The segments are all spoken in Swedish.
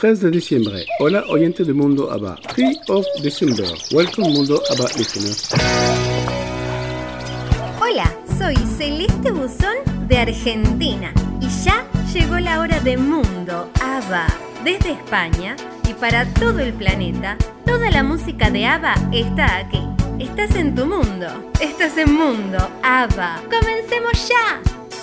3 de diciembre. Hola oyente de Mundo ABBA. 3 of December. Welcome Mundo ABBA listeners. Hola, soy Celeste Buzón de Argentina y ya llegó la hora de Mundo ABBA. Desde España y para todo el planeta, toda la música de ABBA está aquí. Estás en tu mundo, estás en Mundo ABBA. ¡Comencemos ya!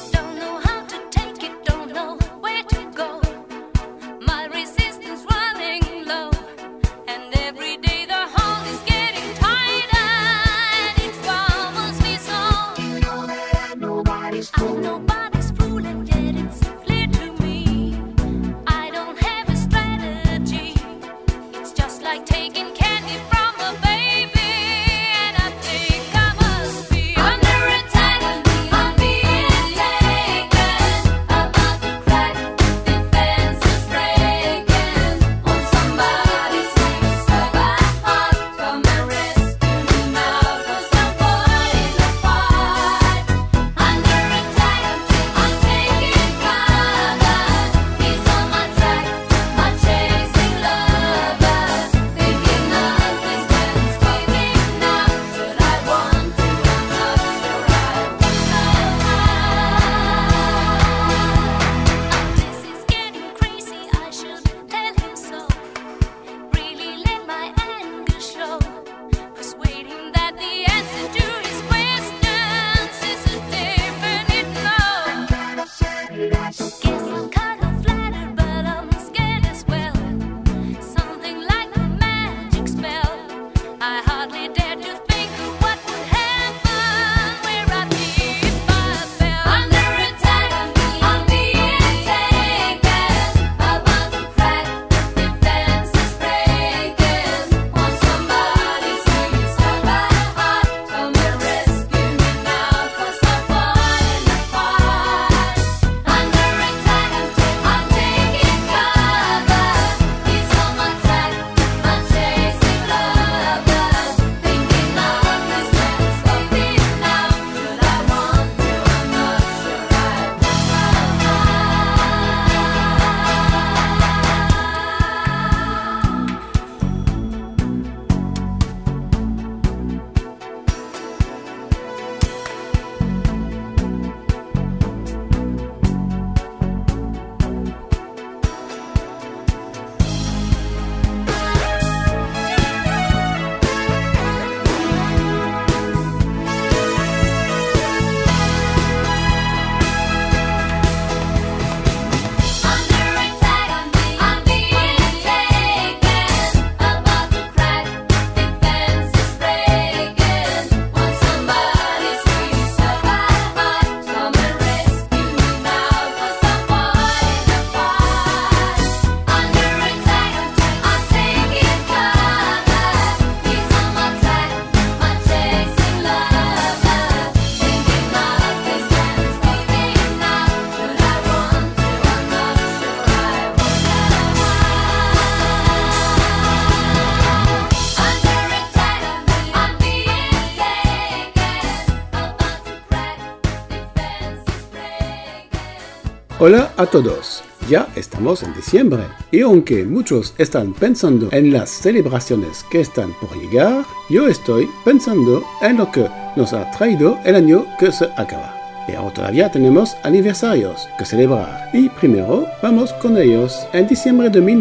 Hola a todos, ya estamos en diciembre y aunque muchos están pensando en las celebraciones que están por llegar, yo estoy pensando en lo que nos ha traído el año que se acaba. Pero todavía tenemos aniversarios que celebrar y primero vamos con ellos. En diciembre de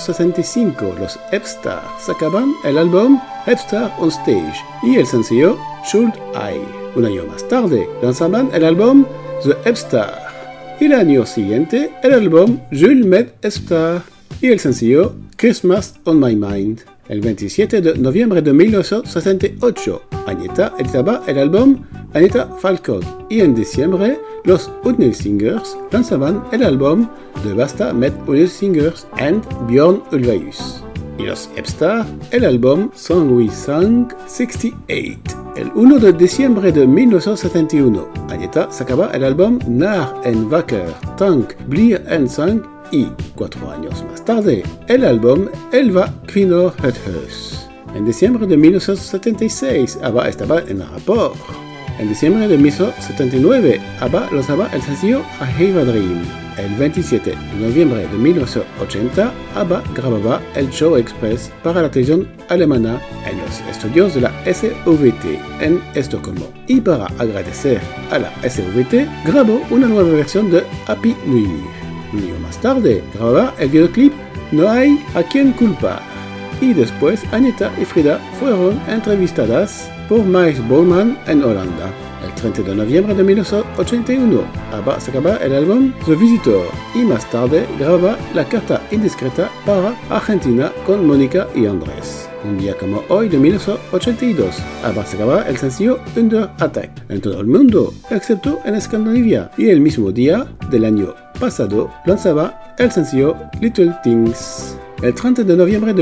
1965 los Hepstars sacaban el álbum Hepstars on Stage y el sencillo Should I. Un año más tarde lanzaban el álbum The Hepstars. Y el año siguiente, el álbum Jules Met Hepstars y el sencillo Christmas on My Mind. El 27 de noviembre de 1968, Agnetha editaba el álbum Agnetha Falcon y en diciembre, los Udnell Singers lanzaban el álbum The Basta Met Udnell Singers and Björn Ulvaeus. Y los Hepstars, el álbum Song We Sang 68. El 1 de diciembre de 1971, Agnetha sacaba el álbum Naar en Wakker, Tank, Blier en Sang y 4 años más tarde, el álbum Elva Kvinnor het Huis. En diciembre de 1976, ABBA estaba en Rapport. En diciembre de 1979, ABBA lanzaba el sencillo A Have a Dream. El 27 de noviembre de 1980, ABBA grababa el show express para la televisión alemana en los estudios de la SVT en Estocolmo. Y para agradecer a la SVT, grabó una nueva versión de Happy New Year. Un año más tarde, grababa el videoclip No hay a quien culpar. Y después, Anita y Frida fueron entrevistadas por Miles Bowman en Holanda. El 30 de noviembre de 1981, ABBA sacaba el álbum The Visitor y más tarde grababa La Carta Indiscreta para Argentina con Mónica y Andrés. Un día como hoy de 1982, ABBA sacaba el sencillo Under Attack en todo el mundo, excepto en Escandinavia, y el mismo día del año pasado lanzaba el sencillo Little Things. El 30 de noviembre de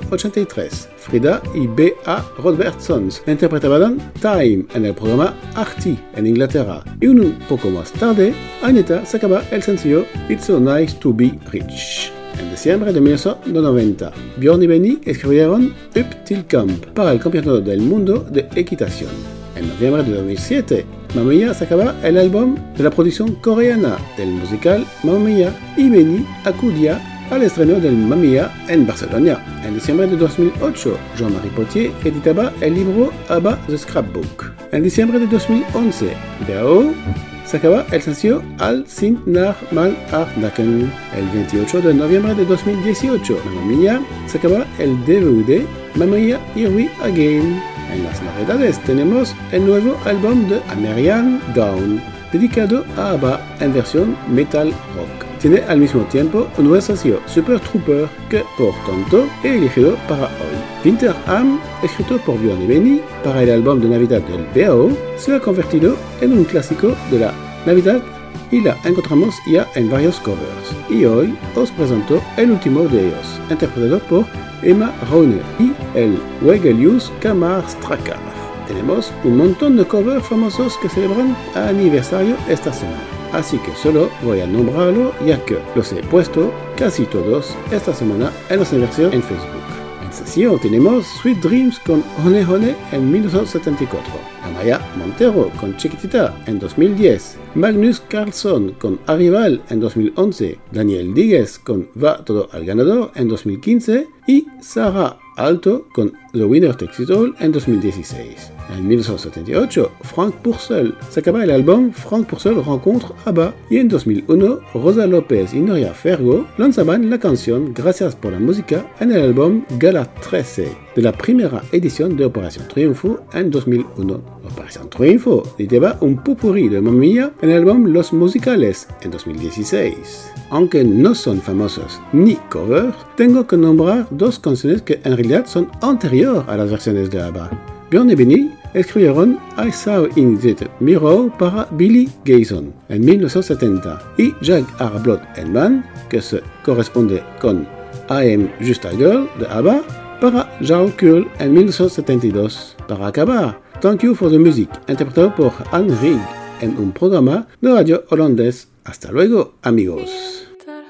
1983, Frida y B.A. Robertsons interpretaban Time en el programa RT en Inglaterra, y un poco más tarde, Anita sacaba el sencillo It's So Nice to Be Rich. En diciembre de 1990, Björn y Benny escribieron Up Till Camp para el Campeonato del Mundo de Equitación. En noviembre de 2007, Mamma Mia sacaba el álbum de la producción coreana del musical Mamma Mia y Benny acudía al estreno del Mamma Mia en Barcelona. En diciembre de 2008, Jean-Marie Potier editaba el libro ABBA The Scrapbook. En diciembre de 2011, B.A.O. sacaba el sencillo All sind nach mal Nacken. El 28 de noviembre de 2018, Mamma Mia sacaba el DVD Mamma Mia Here We Again. En las novedades tenemos el nuevo álbum de American Dawn, dedicado a ABBA en versión metal rock. Tiene al mismo tiempo un nuevo sencillo, Super Trooper, que por tanto he elegido para hoy. Winter Am, escrito por Björn y Benny para el álbum de Navidad del B.A.O., se ha convertido en un clásico de la Navidad y la encontramos ya en varios covers. Y hoy os presento el último de ellos, interpretado por Emma Rone y el Wegelius Kammerstracker. Tenemos un montón de covers famosos que celebran aniversario esta semana, así que solo voy a nombrarlo ya que los he puesto casi todos esta semana en los aniversarios en Facebook. En sesión tenemos Sweet Dreams con Hone Hone en 1974, Amaya Montero con Chiquitita en 2010, Magnus Carlsson con Arrival en 2011, Daniel Díguez con Va Todo al Ganador en 2015 y Sarah Alto con The Winner Takes It All en 2016. En 1978, Frank Purcell sacaba el álbum Frank Purcell Rencontre ABBA y en 2001, Rosa López y Noria Fergo lanzaban la canción Gracias por la música en el álbum Gala 13 de la primera edición de Operación Triunfo en 2001. Operación Triunfo editaba un popurrí de Mamma Mia en el álbum Los Musicales en 2016. Aunque no son famosos ni covers, tengo que nombrar dos canciones que en realidad son anteriores a las versiones de ABBA. Björn y Benny escribieron I Saw in the Mirror para Billy Gayson en 1970 y Jack Arblot Man, que se corresponde con I Am Just a Girl de ABBA, para Jarl Kuhl en 1972. Para acabar, Thank You for the Music, interpretado por Anne Rigg en un programa de radio holandés. Hasta luego, amigos.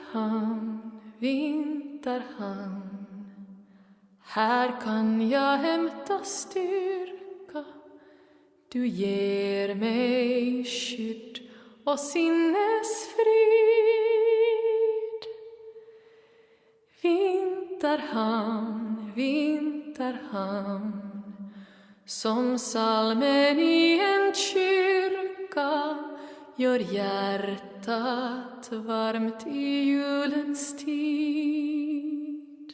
Vinterhamn, här kan jag hämta styrka. Du ger mig skydd och sinnesfrid. Vinterhamn, Vinterhamn, som salmen i en kyrka gör hjärtat varmt i julens tid.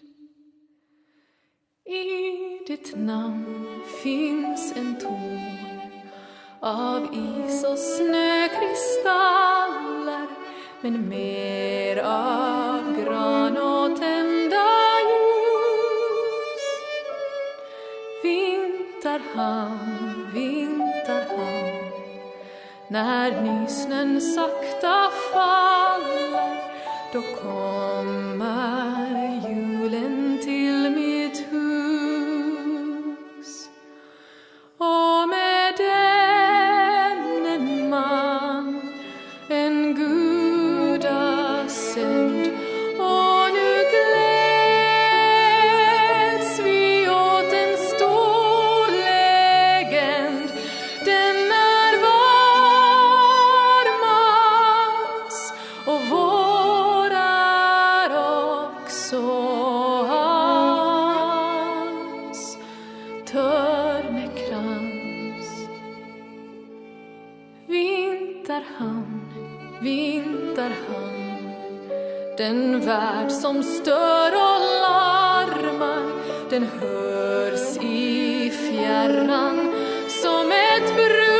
I ditt namn finns en ton av is och snökristaller, men mer av gran och tända ljus. Vinterhamn, Vinterhamn, när nysnön sakta faller, då kommer julen till mitt hus. Och med den en man, en gudasänd, och nu gläds vi åt en stor legend. Denna vinterhamn. Den värld som stör och larmar, den hörs i fjärran som ett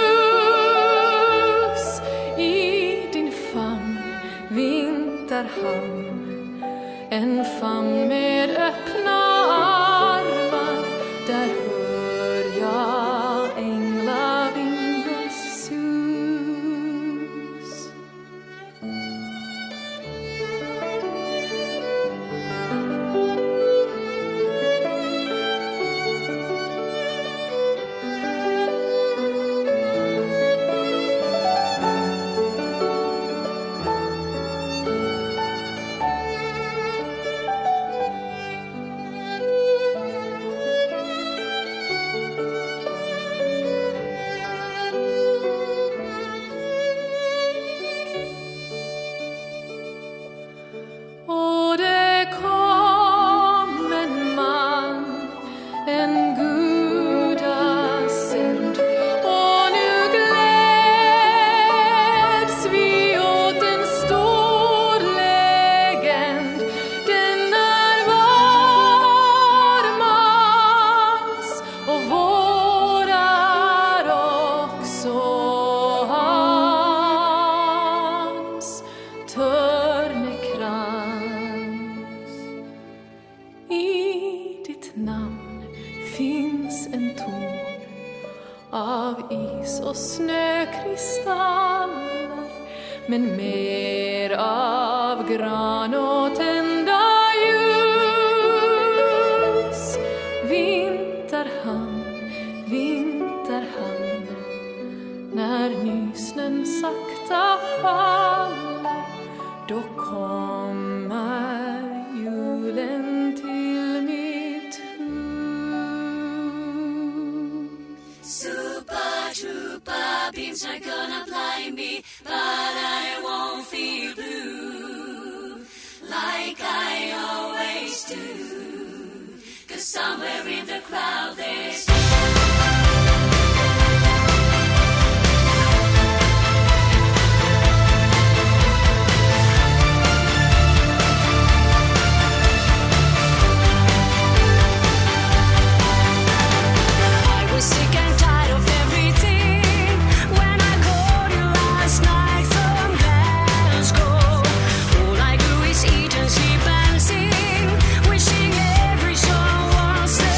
brus i din famn, vinterhamn. En famn med öppna armar, där hör jag änglavingars sus. Men mer av gran och tända ljus. Vinterhamn, vinterhamn, när nysnen sakta faller, då kommer julen till mitt hus. Super trooper beams are gonna blind me, but I won't feel blue like I always do, 'cause somewhere in the crowd there's Wishing every song was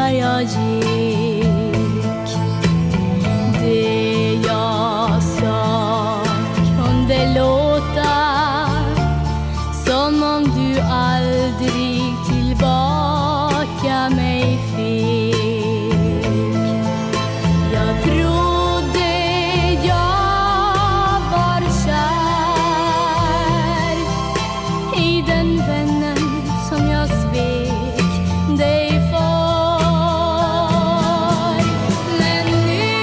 där jag gick. Det jag sa kunde låta som om du aldrig tillbaka mig fick. Jag trodde jag var kär i den vännen som jag svek dig för. Men nu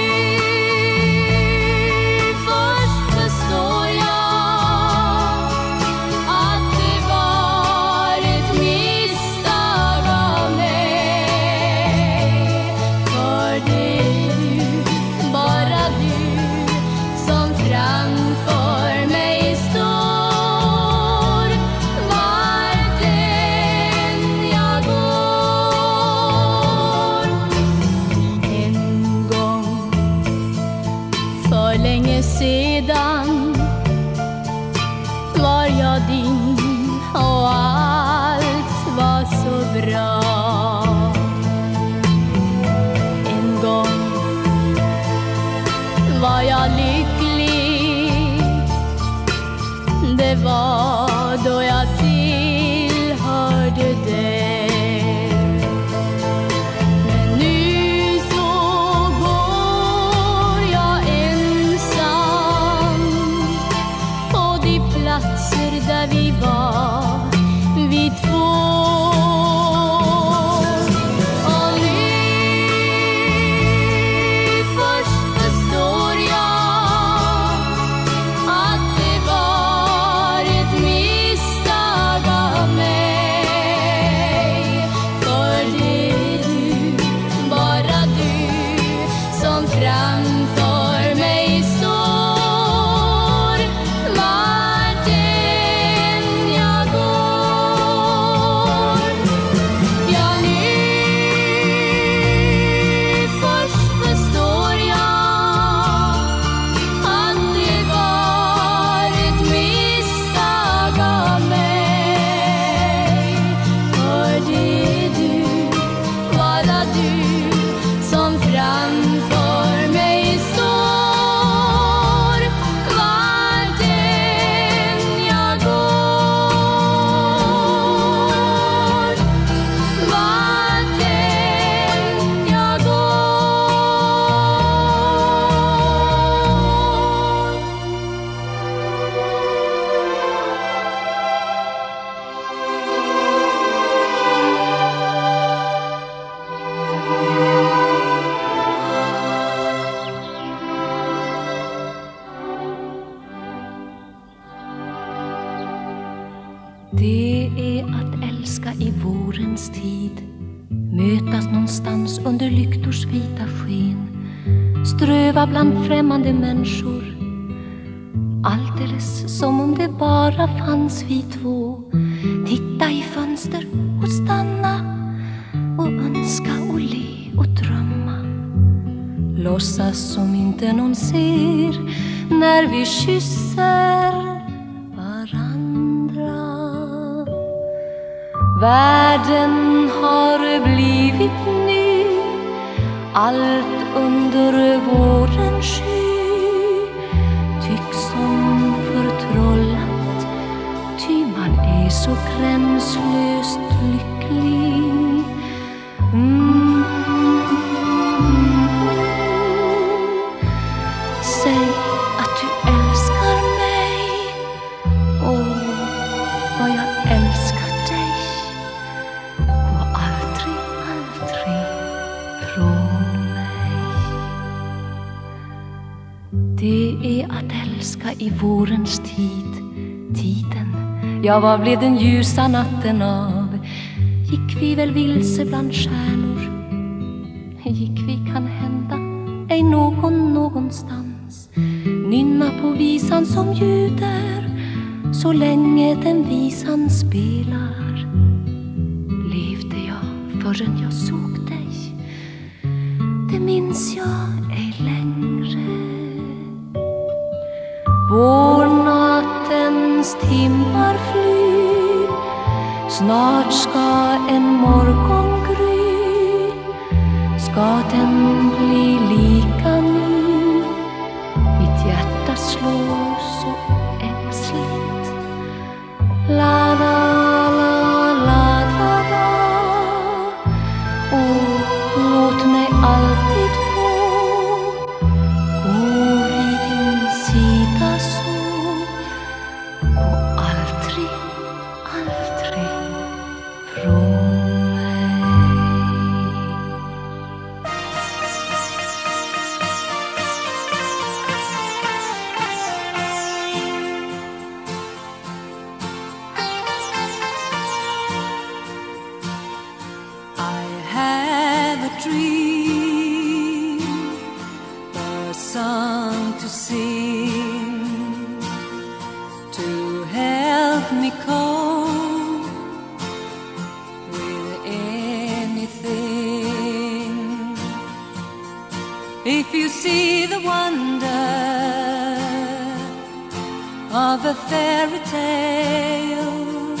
först förstår jag att det var ett misstag av mig. För det är du, bara du, som framför mig står. Vart än jag går. En gång för länge sedan var jag din och allt var så bra. En gång var jag lycklig. Det var då jag tillhörde dig. Men nu så går jag ensam på de platser där vi var, vi två. Och nu först förstår jag att det var ett misstag av mig. För det är du, bara du, som framför mig står. Vart än jag går. Ja, nu först förstår jag att det var ett misstag av mig. För det är du, bara du, som framför mig står. Vart än jag går. Vart än jag Det är att älska i vårens tid, mötas någonstans under lyktors vita sken, ströva bland främmande människor, alldeles som om det bara fanns vi två. Titta i fönster och stanna och önska och le och drömma. Låtsas som inte någon ser när vi kysser varandra. Världen har blivit ny, allt under våren sky tycks som förtrollat, ty man är så gränslöst lycklig. Säg att du älskar mig, åh, vad jag älskar dig. Gå aldrig, aldrig från mig. Det är att älska i vårens tid, tiden, ja, vad blev den ljusa natten av? Gick vi väl vilse bland stjärnor? Gick vi kan hända ej någonstans? Nynna på visan som ljuder så länge den visan spelar. Levde jag förrän jag såg dig? Det minns jag ej längre. Vårnattens timmar flyr, snart ska en morgon gry. alltid få gå vid din sida så, och aldrig, aldrig från mig. I have a dream, a song to sing, to help me cope with anything. If you see the wonder of a fairy tale,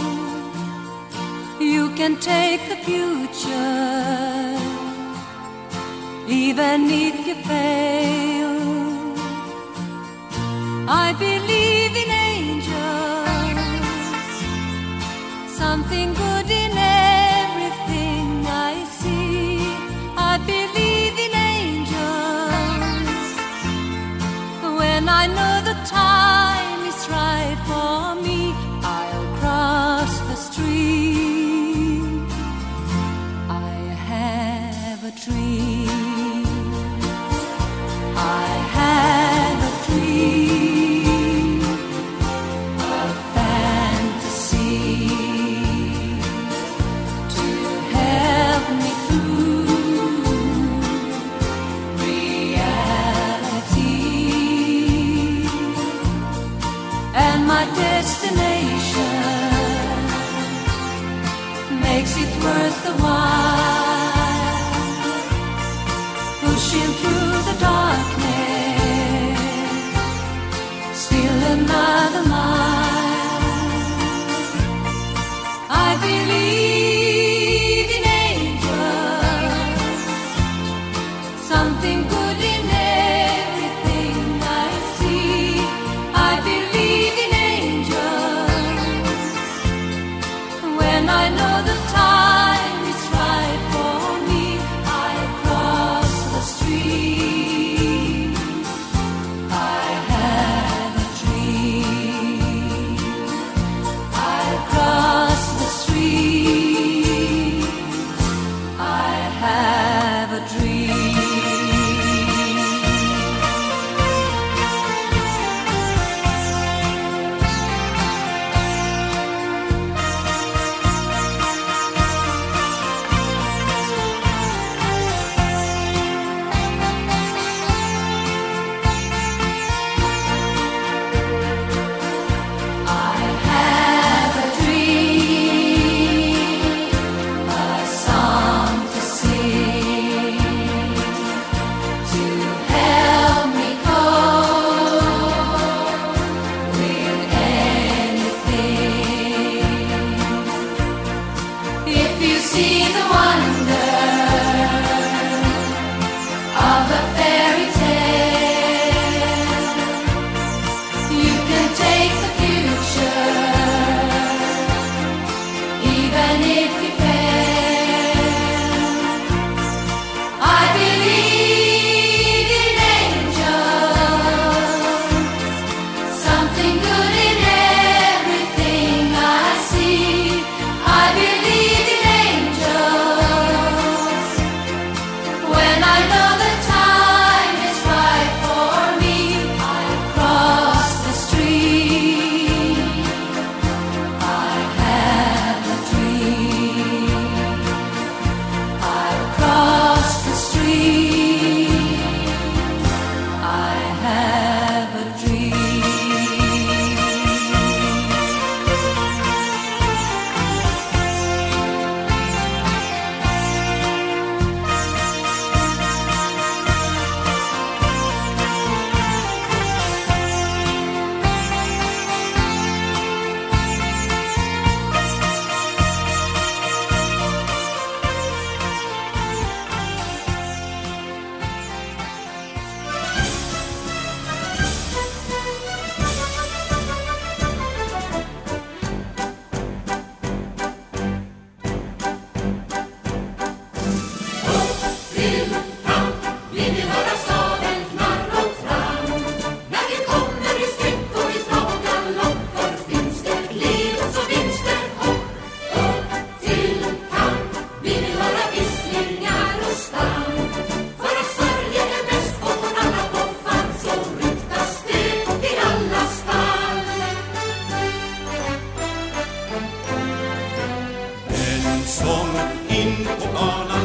you can take the future, even if you fail. I believe in angels, something good in everything I see. I believe in angels, when I know the time is right for me, I'll cross the street. Dream. I have a dream, a fantasy to help me through reality, and my destination makes it worth the while. Pushing through the darkness, still another mile. I believe in angels, something good in everything I see. I believe in angels, when I know the time is right.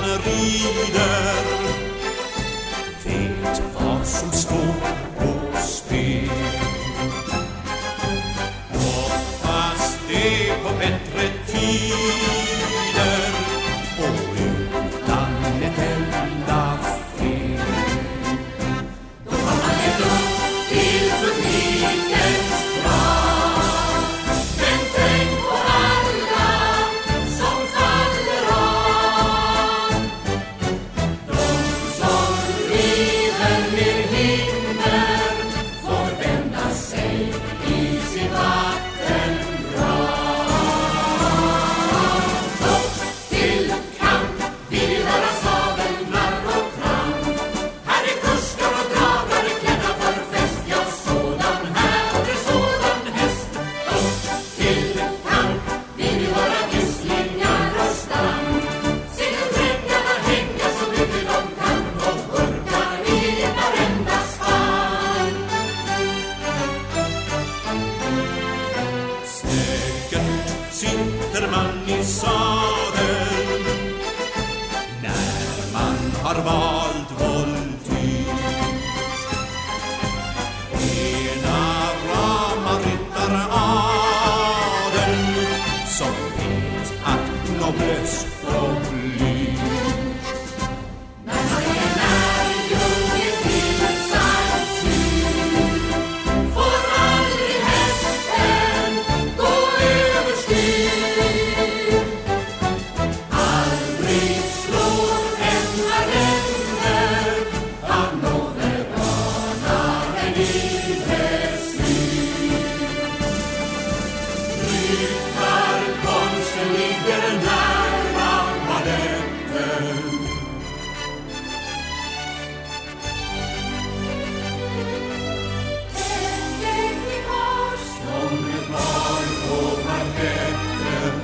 rider vet vad som står på spel. Hoppas det på bättre tider och utan ett enda fel. Då har man levt upp till publikens krav. Men tänk på alla som faller av. De som river med hinder får vända sig i sin vattengrav. Upp till kamp, vi vill höra sabelklarr och tramp. Här är kuskar och dragare klädda för fest. Ja, sådan här och sådan häst. Upp till kamp, vi vill höra visslingar och stamp. Se den drängarna hänga så mycket de kan och burkar i varenda spann. Säkert sitter man i sadeln när man har valt voltyr. Ena rama ryttaradeln som vet att noblesse oblige. När man är lärjunge till censur får aldrig hästen gå överstyr. Aldrig slår en arrender av nåvedanaren i dressyr. Ryttarkonsten ligger nära baletten. Som ett barn på parketten.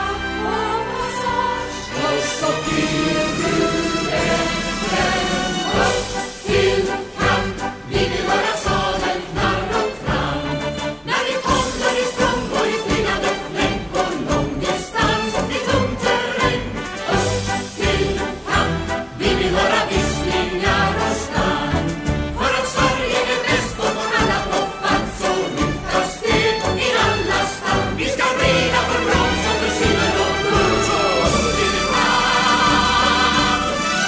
Och så blir du äntligen upp till kamp. Vi vill höra sadelklarr och tramp. När vi kommer i språng och i flygande fläng på lång distans och i tung terräng. Upp till kamp. Vi vill höra visslingar och stamp. För att Sverige är bäst och får alla på fatt så rutas det i alla stam. Vi ska reda för brons och för silver och guld så blir det fram.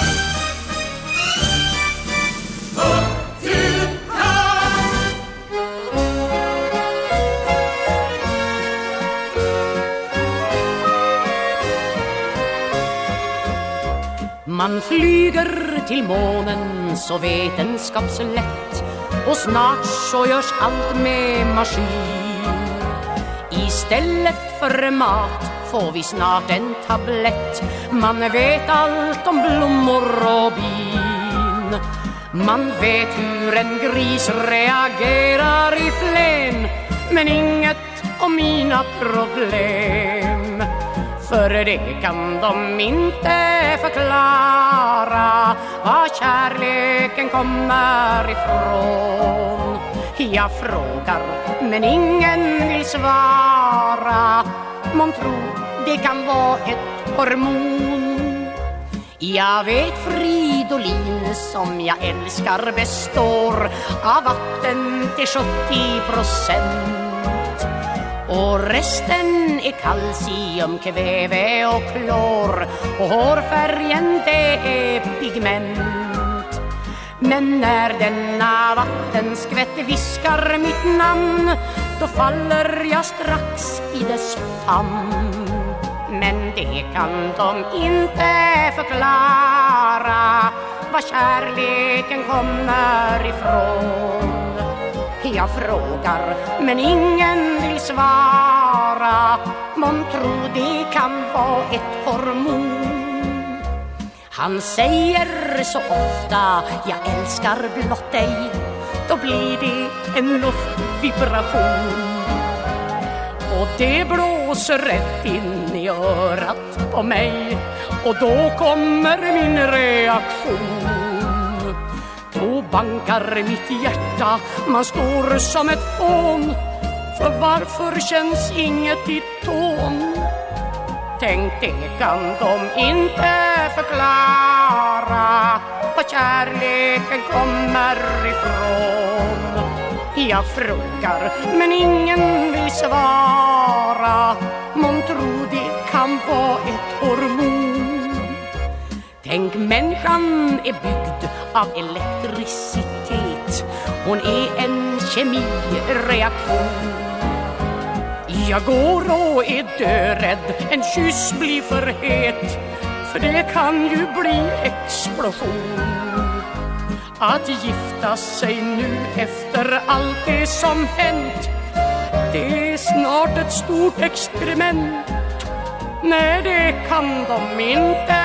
Upp till kamp. Man flyger till månen så vetenskapslätt och snart så görs allt med maskin. Istället för mat får vi snart en tablett. Man vet allt om blommor och bin. Man vet hur en gris reagerar i flän, men inget om mina problem. För det kan de inte förklara var kärleken kommer ifrån. Jag frågar men ingen vill svara. Man tror det kan vara ett hormon. Jag vet Fridolin som jag älskar består av vatten till 70%. Och resten är kalcium, kväve och klor. Och hårfärgen det är pigment. Men när denna vattenskvätt viskar mitt namn, då faller jag strax i dess famn. Men det kan de inte förklara var kärleken kommer ifrån. Jag frågar men ingen vill svara. Man tror det kan vara ett hormon. Han säger så ofta jag älskar blott dig. Då blir det en luftvibration. Och det blåser rätt in i örat på mig. Och då kommer min reaktion. Då bankar mitt hjärta, man står som ett fån. För varför känns inget i tån? tänk, det kan de inte förklara. Var kärleken kommer ifrån. Jag frågar, men ingen vill svara. Man tror det kan vara ett hormon. Tänk, människan är byggd av elektricitet. Hon är en kemireaktion. Jag går och är dörädd, en kyss blir för het, för det kan ju bli explosion. Att gifta sig nu efter allt det som hänt, det är snart ett stort experiment. Nej, det kan de inte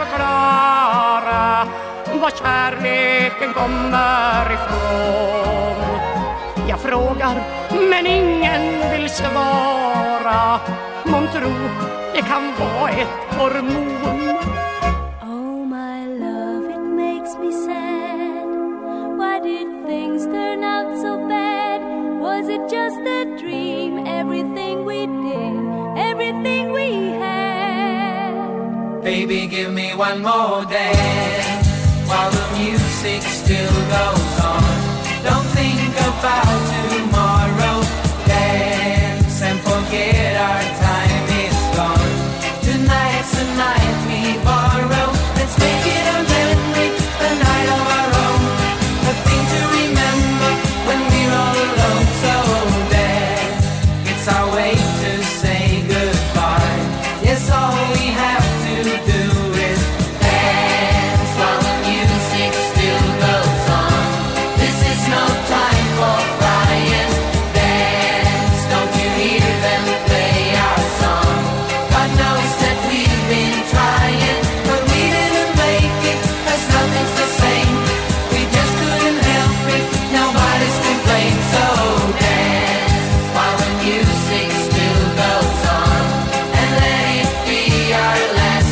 förklara. Var kärleken kommer ifrån. Jag frågar, men ingen vill svara. Man tror det kan vara ett hormon. Oh my love, it makes me sad. Why did things turn out so bad? Was it just a dream? Everything we did, everything we had. Baby, give me one more dance while the music still goes on. Don't think about tomorrow. Dance and forget our time is gone. Tonight's the night we borrow. Let's make it a memory, a night of our own. A thing to remember when we're all alone. So dance, it's our way to say goodbye. Yes, all we have to do is dance while the music still goes on. This is no time for crying. Dance, don't you hear them play our song? God knows that we've been trying, but we didn't make it, 'cause nothing's the same. We just couldn't help it, nobody's to blame. So dance while the music still goes on, and let it be our last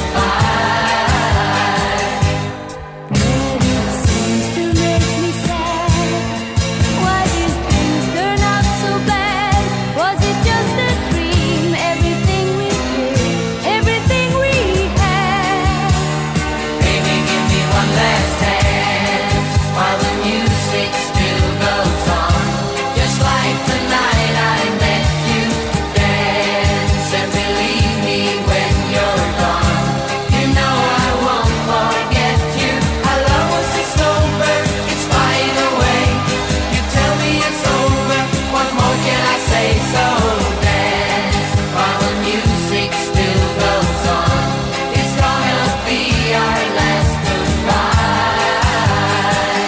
goodbye. But it seems to make me sad. Why did things turn out so bad? Was it just a dream? Everything we did, everything we had. Baby, give me one last dance while the music still goes on. Just like the night I met you. Dance and believe me when you're gone. You know I won't forget you. Our love was a snowbird, it's flying away. You tell me it's over, what more can I say? So dance while the music still goes on. It's gonna be our last goodbye.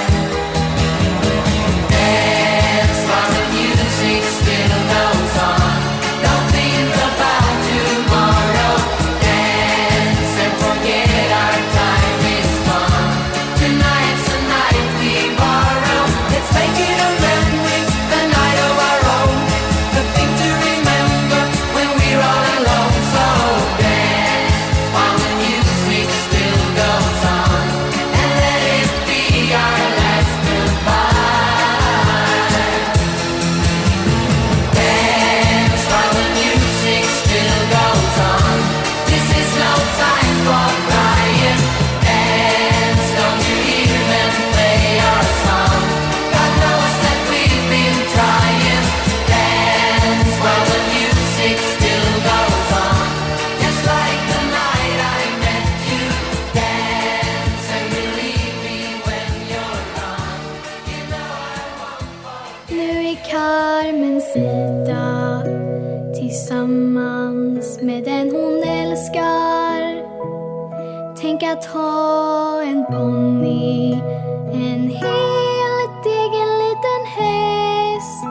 Dance while the music still goes on. Don't think about tomorrow. Dance and forget our time is gone. Tonight's the night we borrow. Let's make it a memory, a night of our own. The thing to remember when we're all alone. So dance while the music still goes on, and let it be our last goodbye. Dance while the music still goes on. This is no time for crying. Dance, don't you hear them play our song? God knows that we've been trying. Dance while the music still goes on. Just like the night I met you. Dance and believe me when you're gone. You know I won't forget. Nu är Carmen Sida tillsammans med den hon älskar. Tänk att ha en ponny, en helt egen liten häst.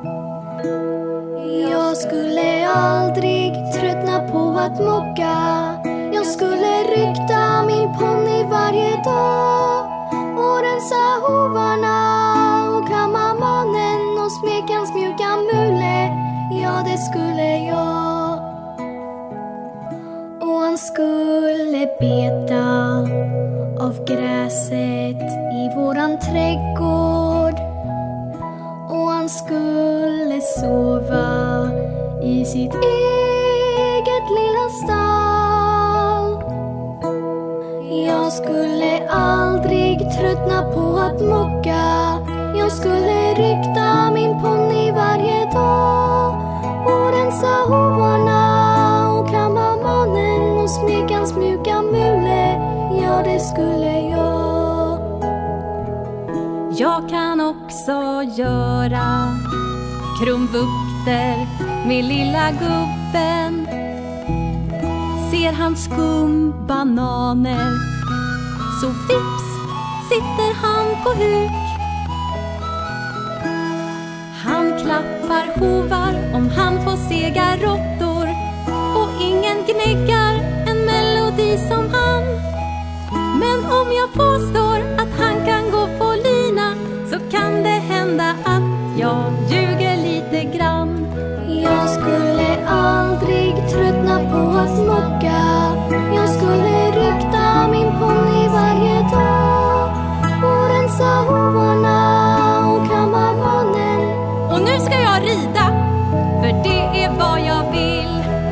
Jag skulle aldrig tröttna på att mocka. Jag skulle rykta min ponny varje dag och rensa hovarna och kamma manen och smeka hans mjuka mule. Ja, det skulle jag. Och han skulle beta av gräset i våran trädgård. Och han skulle sova i sitt eget lilla stall. Jag skulle aldrig tröttna på att mocka. Jag skulle rykta min ponny varje dag och rensa hovarna och kamma manen och smekans mjuka mule. Ja, det skulle jag. Jag kan också göra krumvukter med lilla gubben. Ser han skumbananer så vips sitter han på huk. Han klappar hovar om han får sega råttor och ingen gnäggar en melodi som han. Men om jag påstår att han kan gå på lina så kan det hända att jag ljuger lite grann. Jag skulle aldrig tröttna på att mocka. Jag skulle rykta min ponny varje dag och rensa hovarna och kamma manen. Och nu ska jag rida, för det är vad jag vill.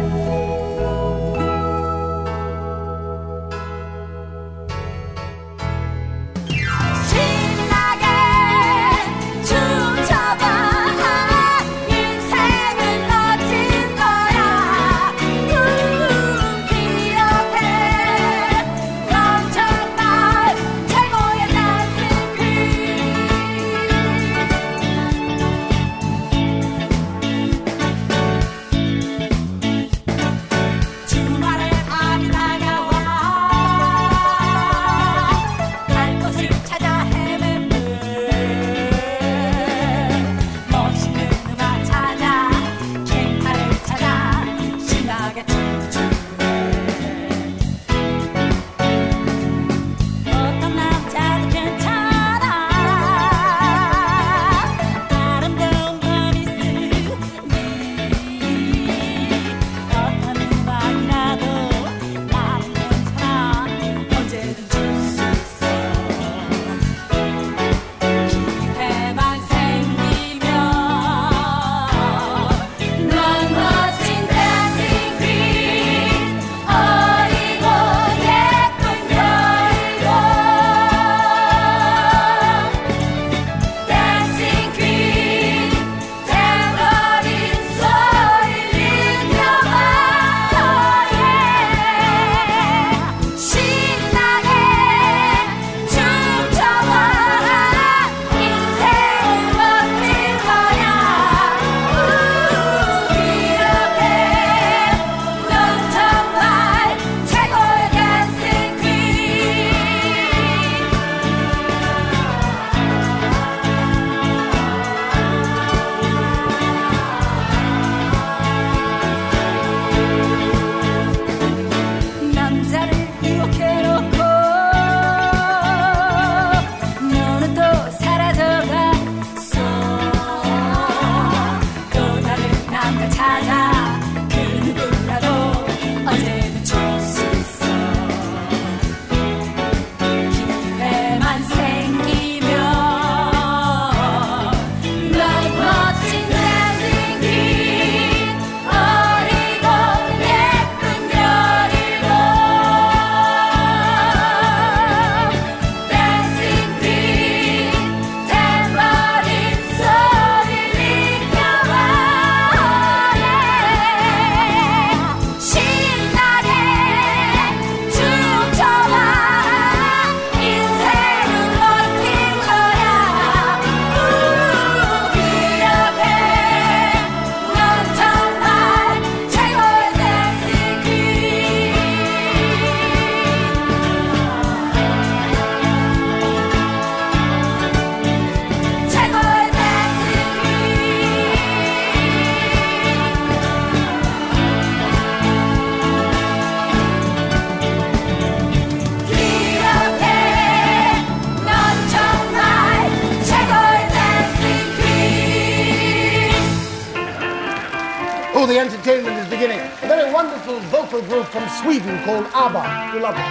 The entertainment is beginning. A very wonderful vocal group from Sweden called ABBA. You love it.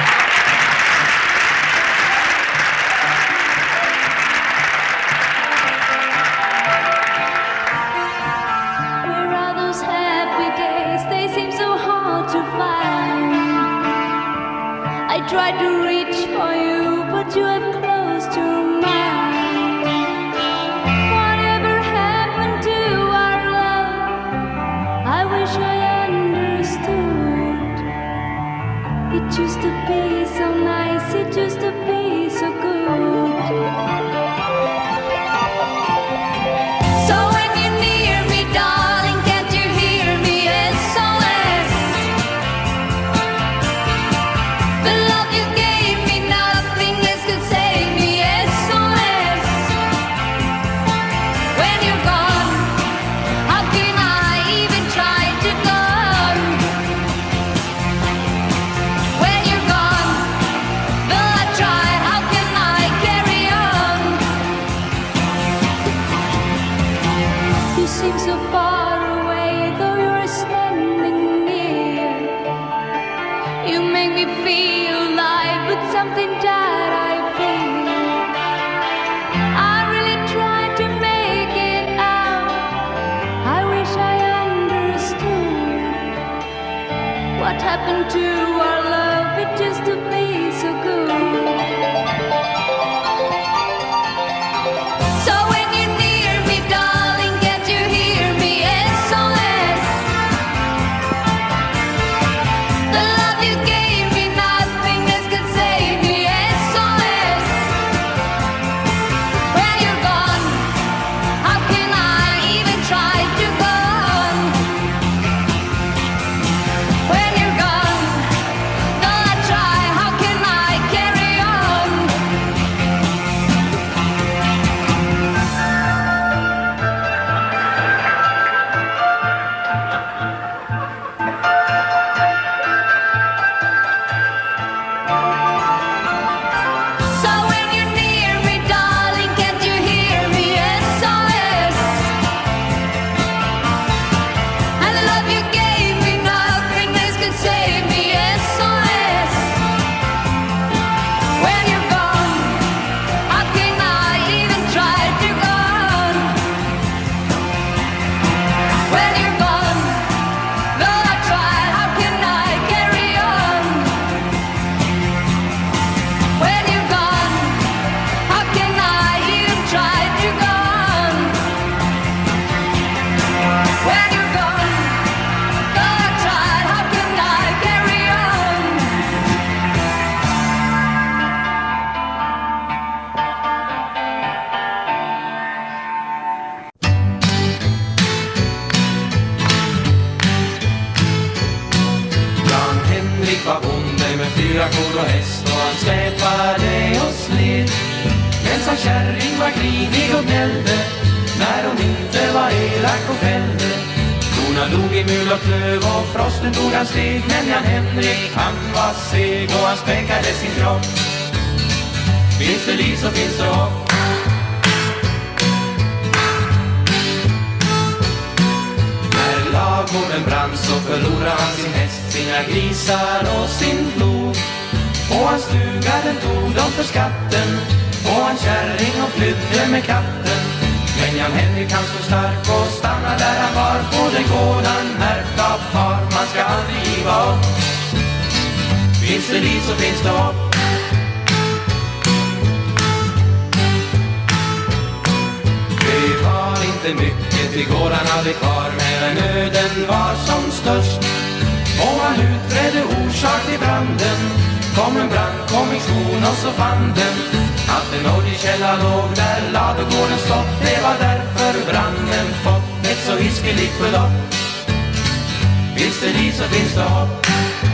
Where are those happy days? They seem so hard to find. I tried to reach for you, but you have closed your mind. Whatever happened to our love? I wish I understood. It used to be so nice, it used to be so good. So when you're near me, darling, can't you hear me? SOS. The love you gave me, nothing else could save me. SOS. When you're gone, how can I even try to go on? When you're gone, though I try, how can I carry on? You seem so far away, though you're standing near. You make me feel alive with something that I feel. I really tried to make it out. I wish I understood what happened to our love. It used to be so good. So when you're near me, darling, can't you hear me? SOS. The love you gave me, nothing else could save me. SOS. When you're gone, how can I even try to go on? When you're gone, though I try, how can I carry on? So when you're near me, darling, can't you hear me? SOS. And the love you gave me, nothing else could save me. SOS. When you're gone, how can I even try to go on? When you're gone, though I try, how can I carry on? When you're gone, how can I even try to go on? When you're gone, though I try, how can I carry on? Jan-Henrik var bonde med 4 kor och häst och han släpade och sled. Men sa kärring var grinig och gnällde när hon inte var elak och skällde. Korna dog i mul och klöv och frosten tog hans steg. Men Jan-Henrik han var seg och han späckade sin kropp. Finns det liv så finns det hopp. När ladugården brann så förlorade han sin häst, sina grisar och sin plog. Och hans stuga den tog de för skatten, och han kärring och flydde med katten. Men Jan-Henrik han stod stark och stannade där han var. På den gård han ärvt av far, man ska aldrig giva upp. Finns det liv så finns det hopp. Det var inte mycket till gården hade kvar, men nöden var som störst. Och han utredde orsak till branden. Kom en brandkommission och så fann den att en oljekälla låg där ladugården stått. Det var därför branden fått ett så hiskeligt förlopp. Finns det liv så finns det hopp.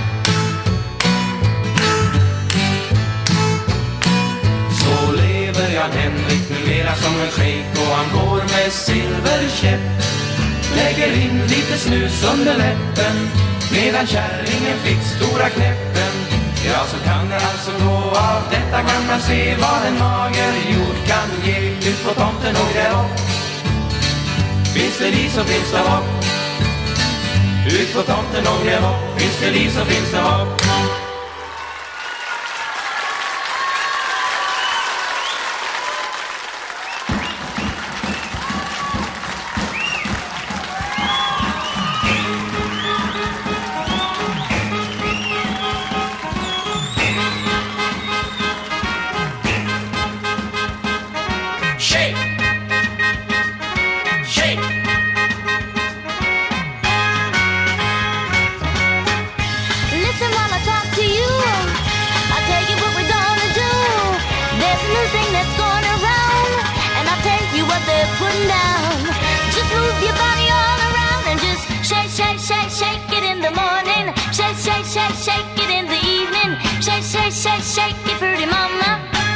Så lever Jan-Henrik numera som en shejk, och han går med silverkäpp. Lägger in lite snus under läppen, medan kärringen fick stora knäppen. Ja, så kan det alltså gå. Av detta kan man se vad en mager jord kan ge. Ut på tomten och gräv upp. Finns det liv så finns det hopp. Ut på tomten och gräv upp. Finns det liv så finns det hopp. shake, shake it, pretty mama.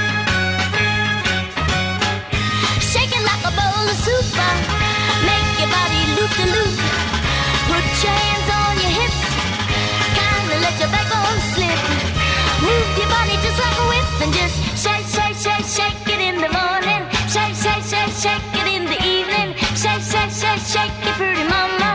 Shake it like a bowl of soup. Make your body loop-de-loop. Put your hands on your hips. Kinda let your backbone slip. Move your body just like a whip. And just shake, shake, shake, shake it in the morning. Shake, shake, shake, shake it in the evening. Shake, shake, shake, shake it, pretty mama.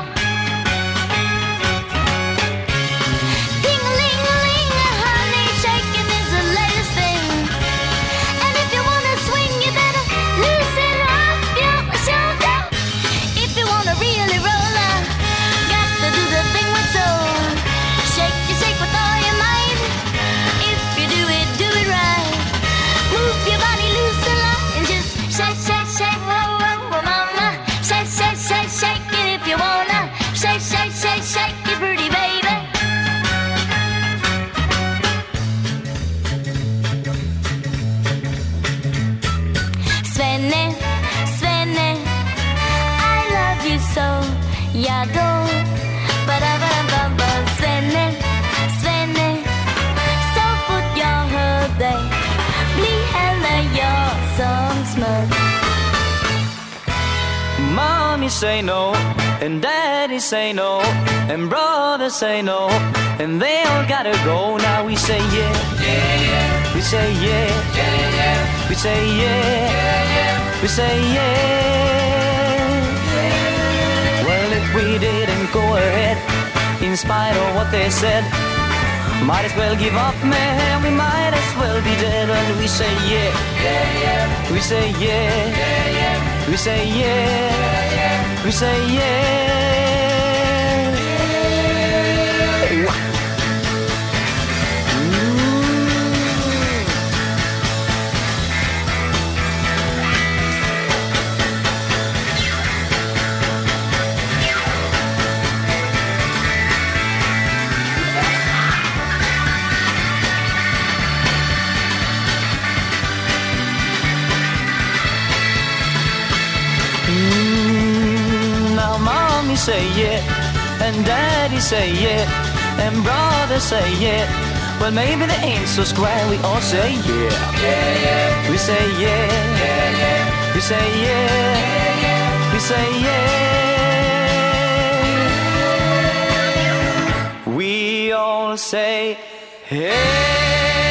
Ding-a-ling-a-ling, honey, shaking is the latest thing. And if you wanna swing, you better loosen up your shoulder. If you wanna really roll up, got to do the thing with soul. Shake with all your might. If you do it right. Move your body loose and light and just shake, shake, shake, whoa, whoa, whoa, mama. Shake, shake, shake, shake it if you wanna. Shake, shake, shake, shake it, pretty baby. Svenne, Svenne, I love you so. Jag då, ba-da-ba-da-ba-ba. Svenne, Svenne, så fort jag hör dig blir heller jag som smör. Mommy say no, and daddy say no, and brother say no, and they all gotta go. Now we say yeah, yeah, yeah. We say yeah, yeah, yeah. We say yeah, yeah, yeah. We say yeah, yeah. Well, if we didn't go ahead, in spite of what they said, might as well give up, man. We might as well be dead. And we say yeah, yeah, yeah. We say yeah, yeah, yeah. We say yeah, yeah, yeah. We say yeah. Say yeah, and daddy say yeah, and brother say yeah. Well, maybe they ain't so square. We all say yeah, yeah, yeah. We say yeah, yeah, yeah. We say yeah, yeah, yeah. We say yeah. We all say hey.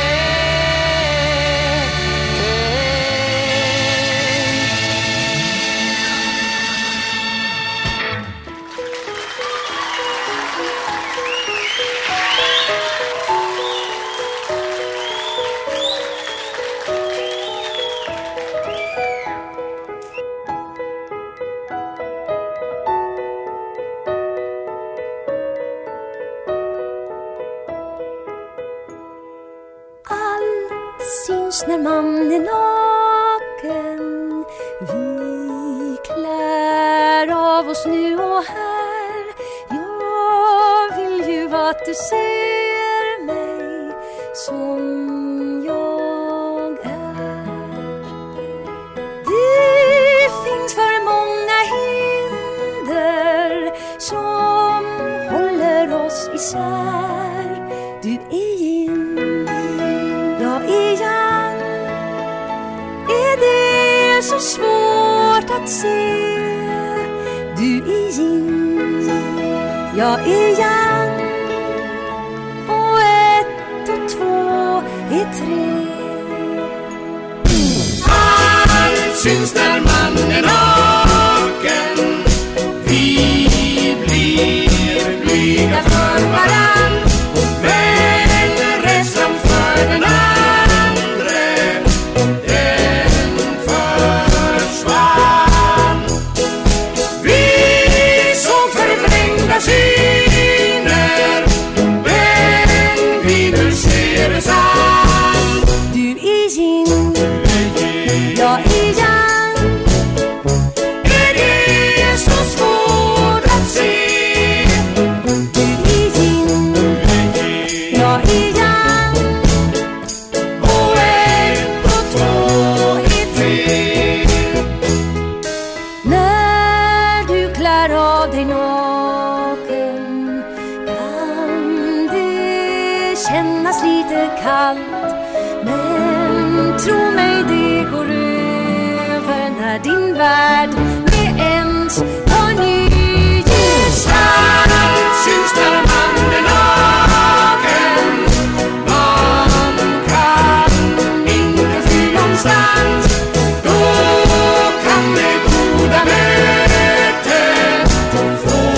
När man är naken, vi klär av oss nu och här. Jag vill ju att du ser mig som jag är. Det finns för många hinder som håller oss isär. Du är yin, jag är yang. Det är så svårt att se. Du är yin, jag är yang. Och 1 och 2 är 3. Allt syns när man är naken. Vi blir blyga för varann, men rädslan för den andra. Syner, men vi nu ser det sant. Du är yin, jag är yang. Tro mig, det går över när din värld med ens på ny gestalt syns när man är naken. Man kan inte fly någonstans. Då kan det goda mötet få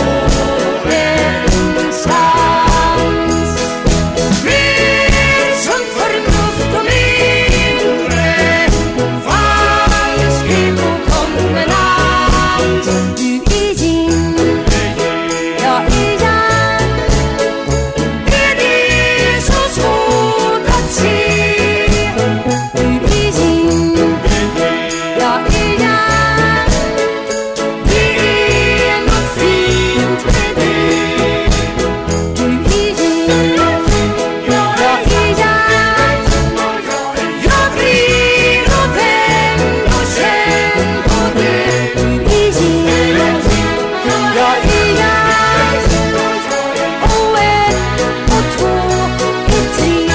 en chans. Mer sunt förnuft och mindre falskhet och konvenans. Du är yin, jag är yang. Är det så svårt att se? Du är yin, jag är yang. Det är något fint med det. Du är yin, jag är yang. Jag blir och vänd och känn på det. Du är yin, jag är yang. Och ett och två är tre.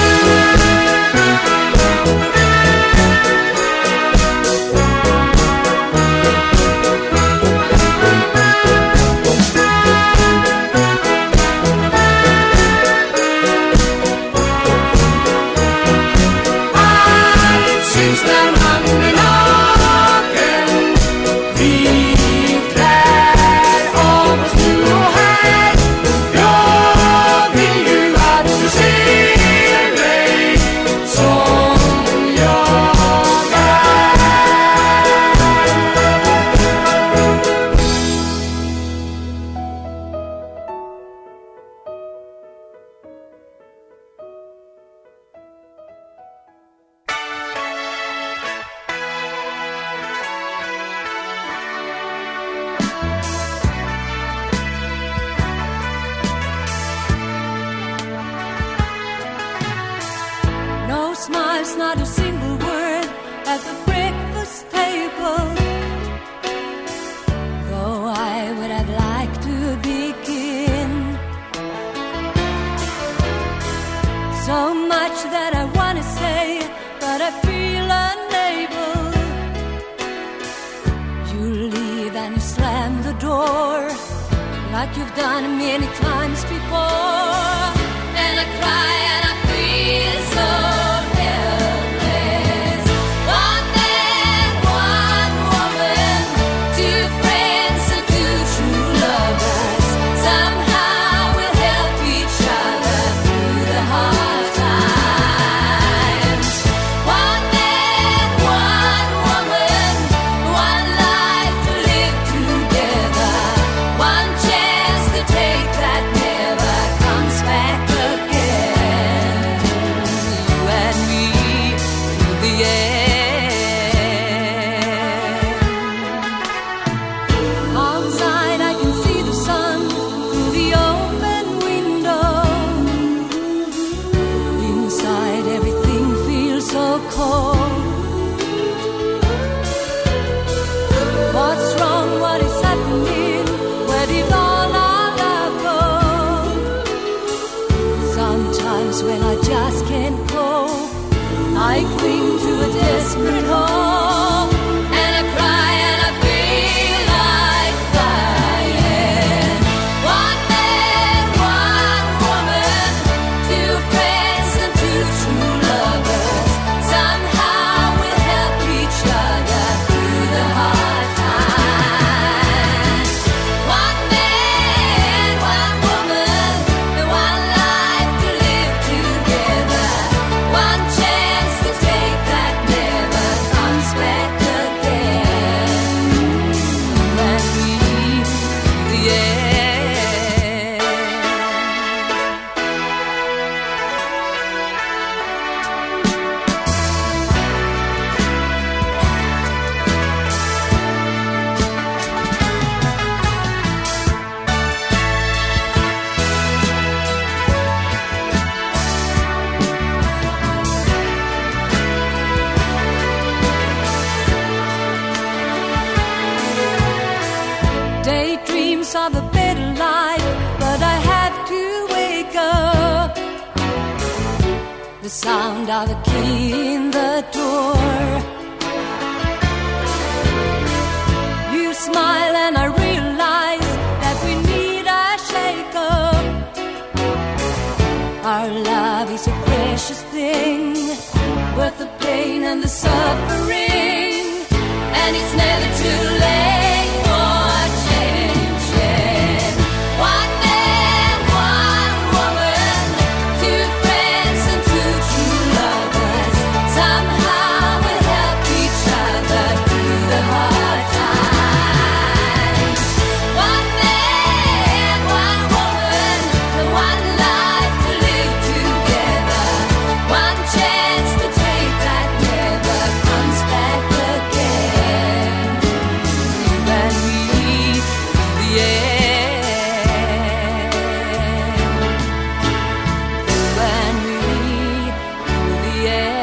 Allt syns när man är naken. Vi klär av oss nu och här. Jag vill ju att du ser mig som jag är. No smiles, not a single word at the breakfast table. Though I would have liked to begin. So much that I want to say, but I feel unable. You leave and you slam the door, like you've done many times before. And I cry and I feel so helpless. One man, one woman, two friends and two true lovers. Somehow we'll help each other through the hard times. One man, one woman, one life to live together. One chance to take that never comes back again. You and me through the end. Outside I can see the sun through the open window. Inside everything feels so cold. What's wrong? What is happening? Where did all our love go? Sometimes when I just can't cope, I cling to a desperate hope. And I cry and I feel like dying. One man, one woman, two friends and two true lovers. Somehow we'll help each other through the hard times. One man, one woman, one life to live together. One chance to take that never comes back again. And we through the end. Daydreams of a better life, but I have to wake up. the sound of a key in the door. You smile and I realize that we need a shake-up. Our love is a precious thing, worth the pain and the suffering, and it's never too late for changing. One man, one woman, two friends and two true lovers, somehow we'll help each other through the hard times. One man, one woman, one life to live together, one chance to take that never comes back again. You and me to the end. You and me to the end.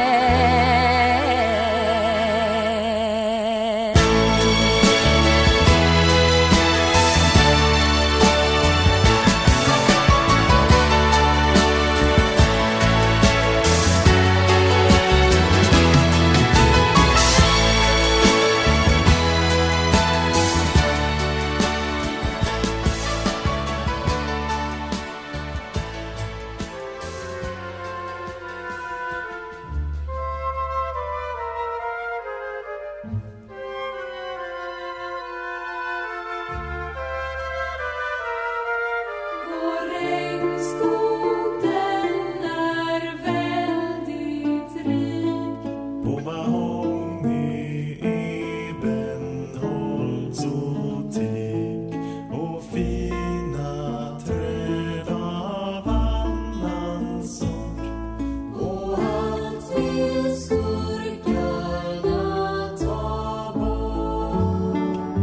Vår regnskog den är väldigt rik. På mahogny, ebenholts och teak och fina träd av annan sort. Och allt vill skurkarna ta bort.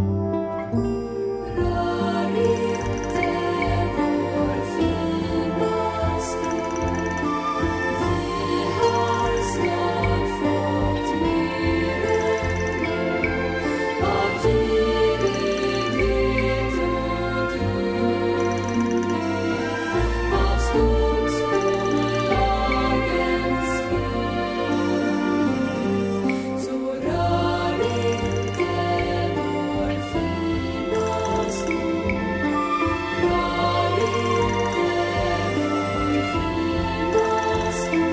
Rör inte vår fina skog. Vi har snart fått mer än nog av girighet och dumhet, av skogsbolagens frihet. Så rör inte vår fina skog. Rör inte vår fina skog.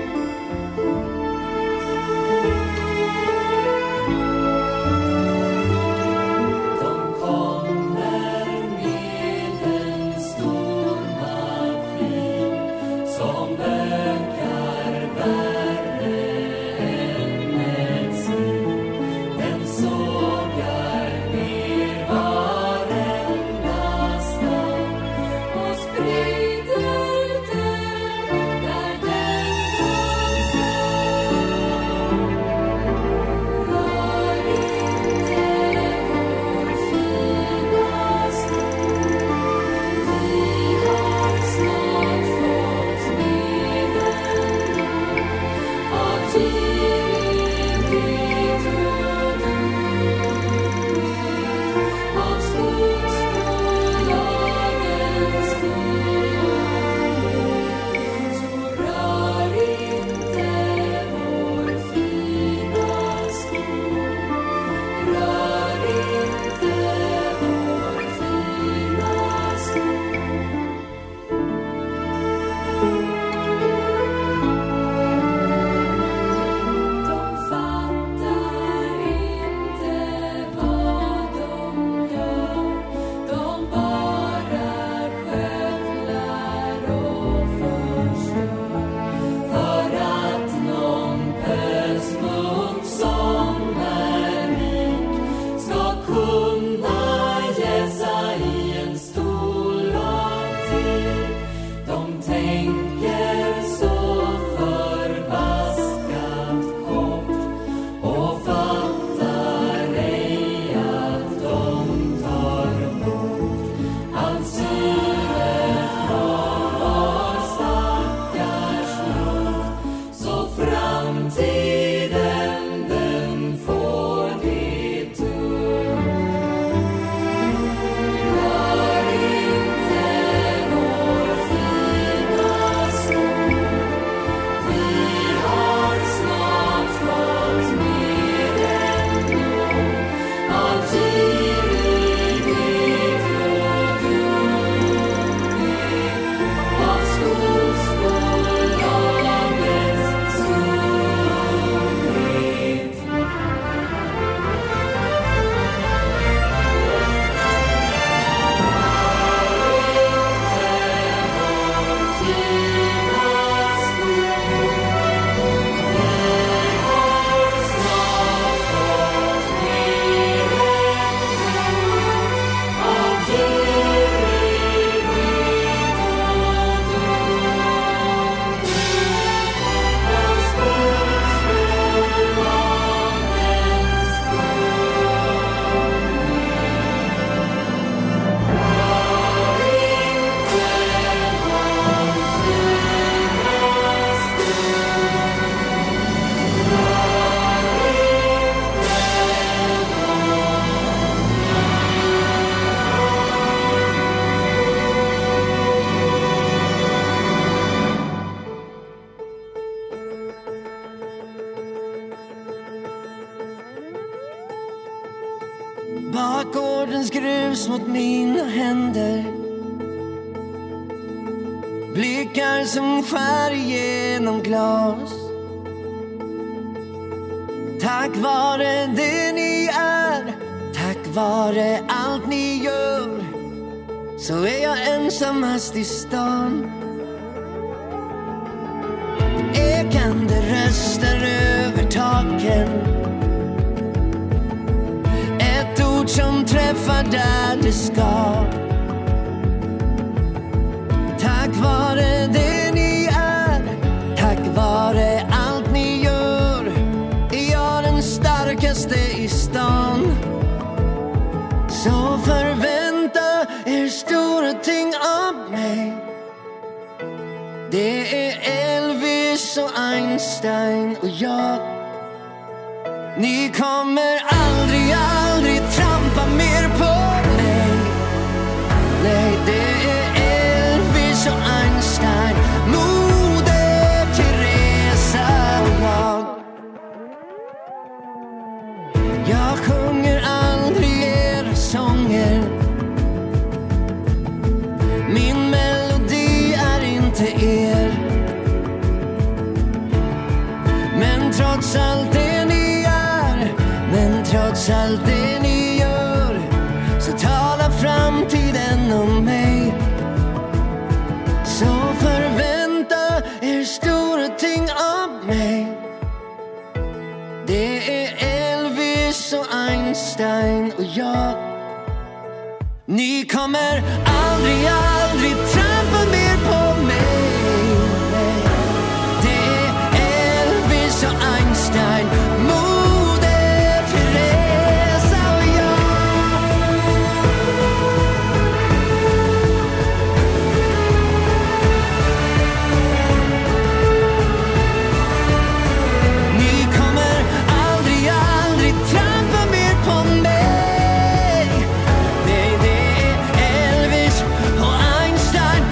De kommer med en stor maskin som bökar värre än ett svin. Den sågar ner varenda stam Och sprider den där den kom fram. Rör inte vår fina skog. Vi har snart fått mer än nog av girighet och dumhet, av skogsbolagens frihet. Så rör inte vår fina skog. Rör inte vår fina skog. De fattar inte vad de gör. De bara skövlar och förstör. För att någon pösmunk som är rik ska kunna jäsa i en stol av tyg. De tänker så förbaskat kort och fattar ej att de tar bort all syre från vår stackars luft. Så framtiden den får det tungt. Rör inte vår fina skog. Vi Bakgårdens grus mot mina händer. Blickar som skär igenom glas. Tack vare det ni är, tack vare allt ni gör, så är jag ensammast i stan. Ekande röster över taken. Ett ord som träffar där det ska. Tack vare det ni är, tack vare allt ni gör, är jag den starkaste i stan. Så förvänta er stora ting av mig. Det är Elvis och Einstein och jag. Ni kommer aldrig, aldrig trampa mer på mig. Nej, det är Elvis och Einstein, Moder Teresa och jag. Jag sjunger aldrig era sånger. Min melodi är inte er. Men trots allt det ni är, men trots allt det ni gör, så talar framtiden om mig. Så förvänta er stora ting av mig. Det är Elvis och Einstein och jag. Ni kommer aldrig, aldrig trampa mer på mig. Det är Elvis och Einstein, Moder Teresa och jag. Ni kommer aldrig, aldrig trampa mer på mig. Nej, det är Elvis och Einstein,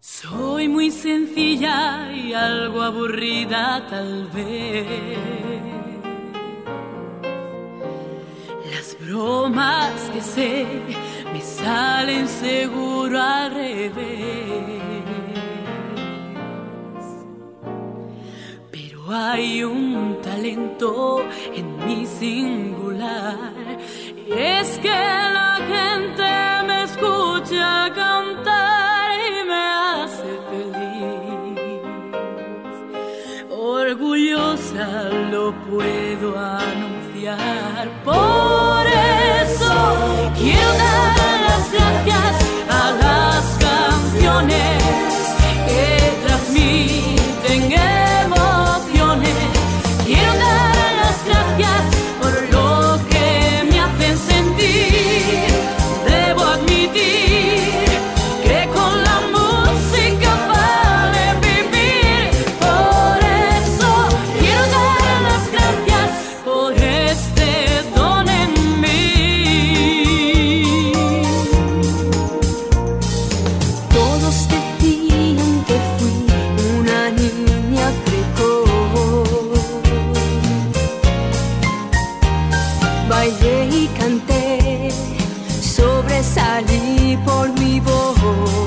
Soy muy sencilla y algo aburrida tal vez. Las bromas que sé me salen seguro al revés. Pero hay un talento en mi singular, y es que la gente me escucha cantar y me hace feliz. Orgullosa lo puedo anunciar, por eso quiero dar las gracias a las canciones que transmiten emociones. Quiero dar las gracias por lo que me hacen sentir. Debo admitir que con la música vale vivir. Por eso quiero dar las gracias por este don en mí. Todos decían que fui una niña precoz. Bailé y canté, sobresalí por mi voz.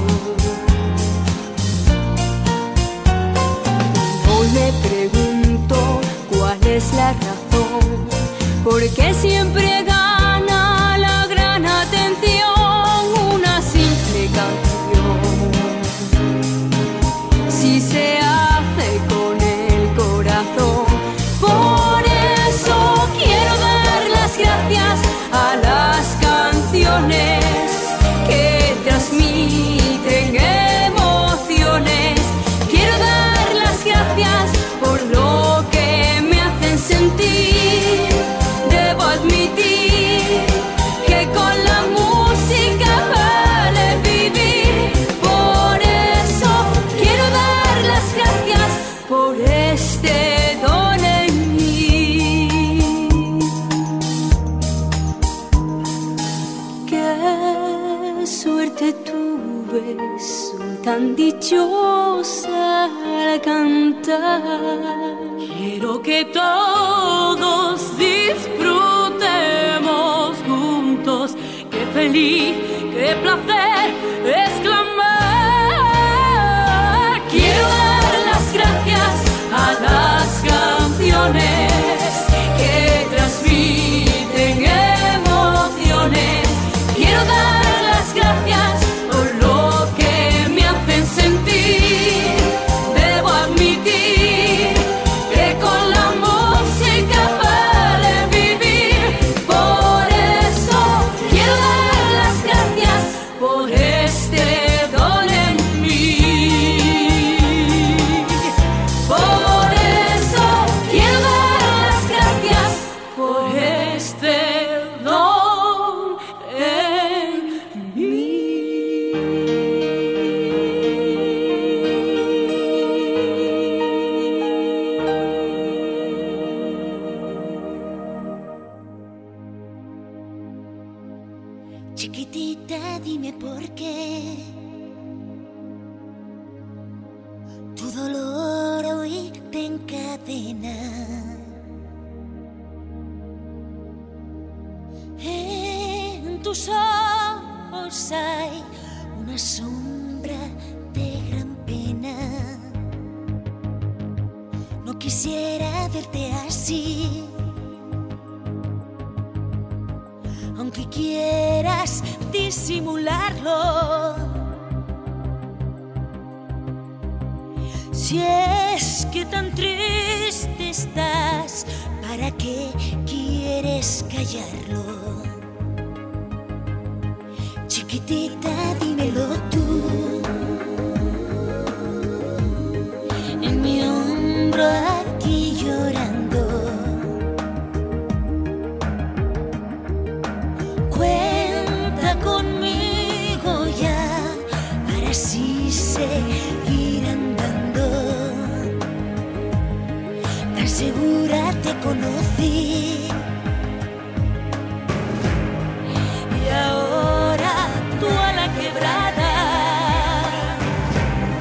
Hoy me pregunto cuál es la razón, porque siempre gana la gran atención una simple canción. Si se hace con el corazón, por eso quiero dar las gracias a las canciones que transmiten emociones. Quiero dar las gracias por lo que me hacen sentir. Debo admitir que con la música vale vivir. Por eso quiero dar las gracias por este don en mí. Qué suerte tuve, soy tan dichosa al cantar. Quiero que todos disfrutemos juntos. Qué feliz, qué placer exclamar. Quiero dar las gracias a las canciones que transmiten emociones. Quiero dar las gracias por lo que me hacen sentir. Debo admitir que con la música vale vivir. Por eso quiero dar las gracias por este don en mí. Por eso quiero dar las gracias por este don en mí. Chiquitita, dime por qué tu dolor hoy te encadena. En tus ojos hay una sombra de gran pena. No quisiera verte así, aunque quieras disimularlo. Si es que tan triste estás, ¿para qué quieres callarlo? Chiquitita, dímelo tú. En mi hombro aquí llorando. Cuenta conmigo ya para así seguir andando. Tan segura te conocí y ahora tú a la quebrada.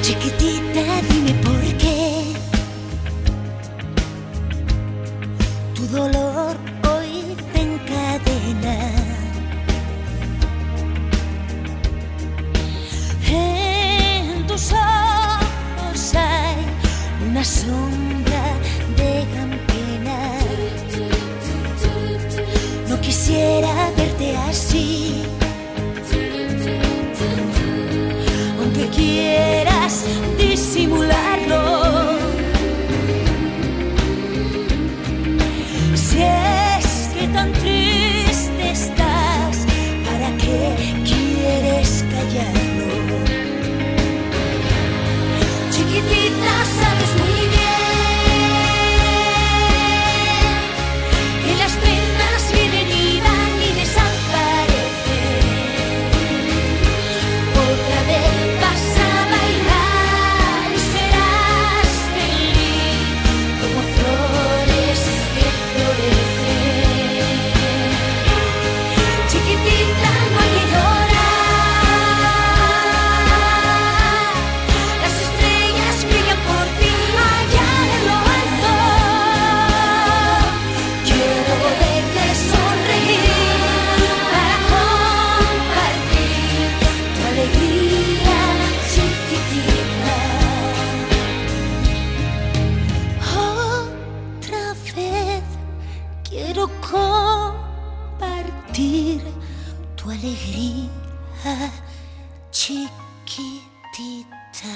Chiquitita, dime por qué tu dolor hoy te encadena. En tus ojos hay una sombra de gran pena. No quisiera verte así, aunque quieras disimularlo. Si es que tan triste estás, ¿para qué quieres callarlo? Chiquitita, sabes muy bien que las penas vienen y van y desaparecen. Otra vez vas a bailar y serás feliz como flores que florecen. Chiquitita, no hay que llorar, las estrellas brillan por ti allá en lo alto. Quiero verte sonreír para compartir tu alegría, chiquitita. Otra vez quiero compartir tu alegría, chiquitita.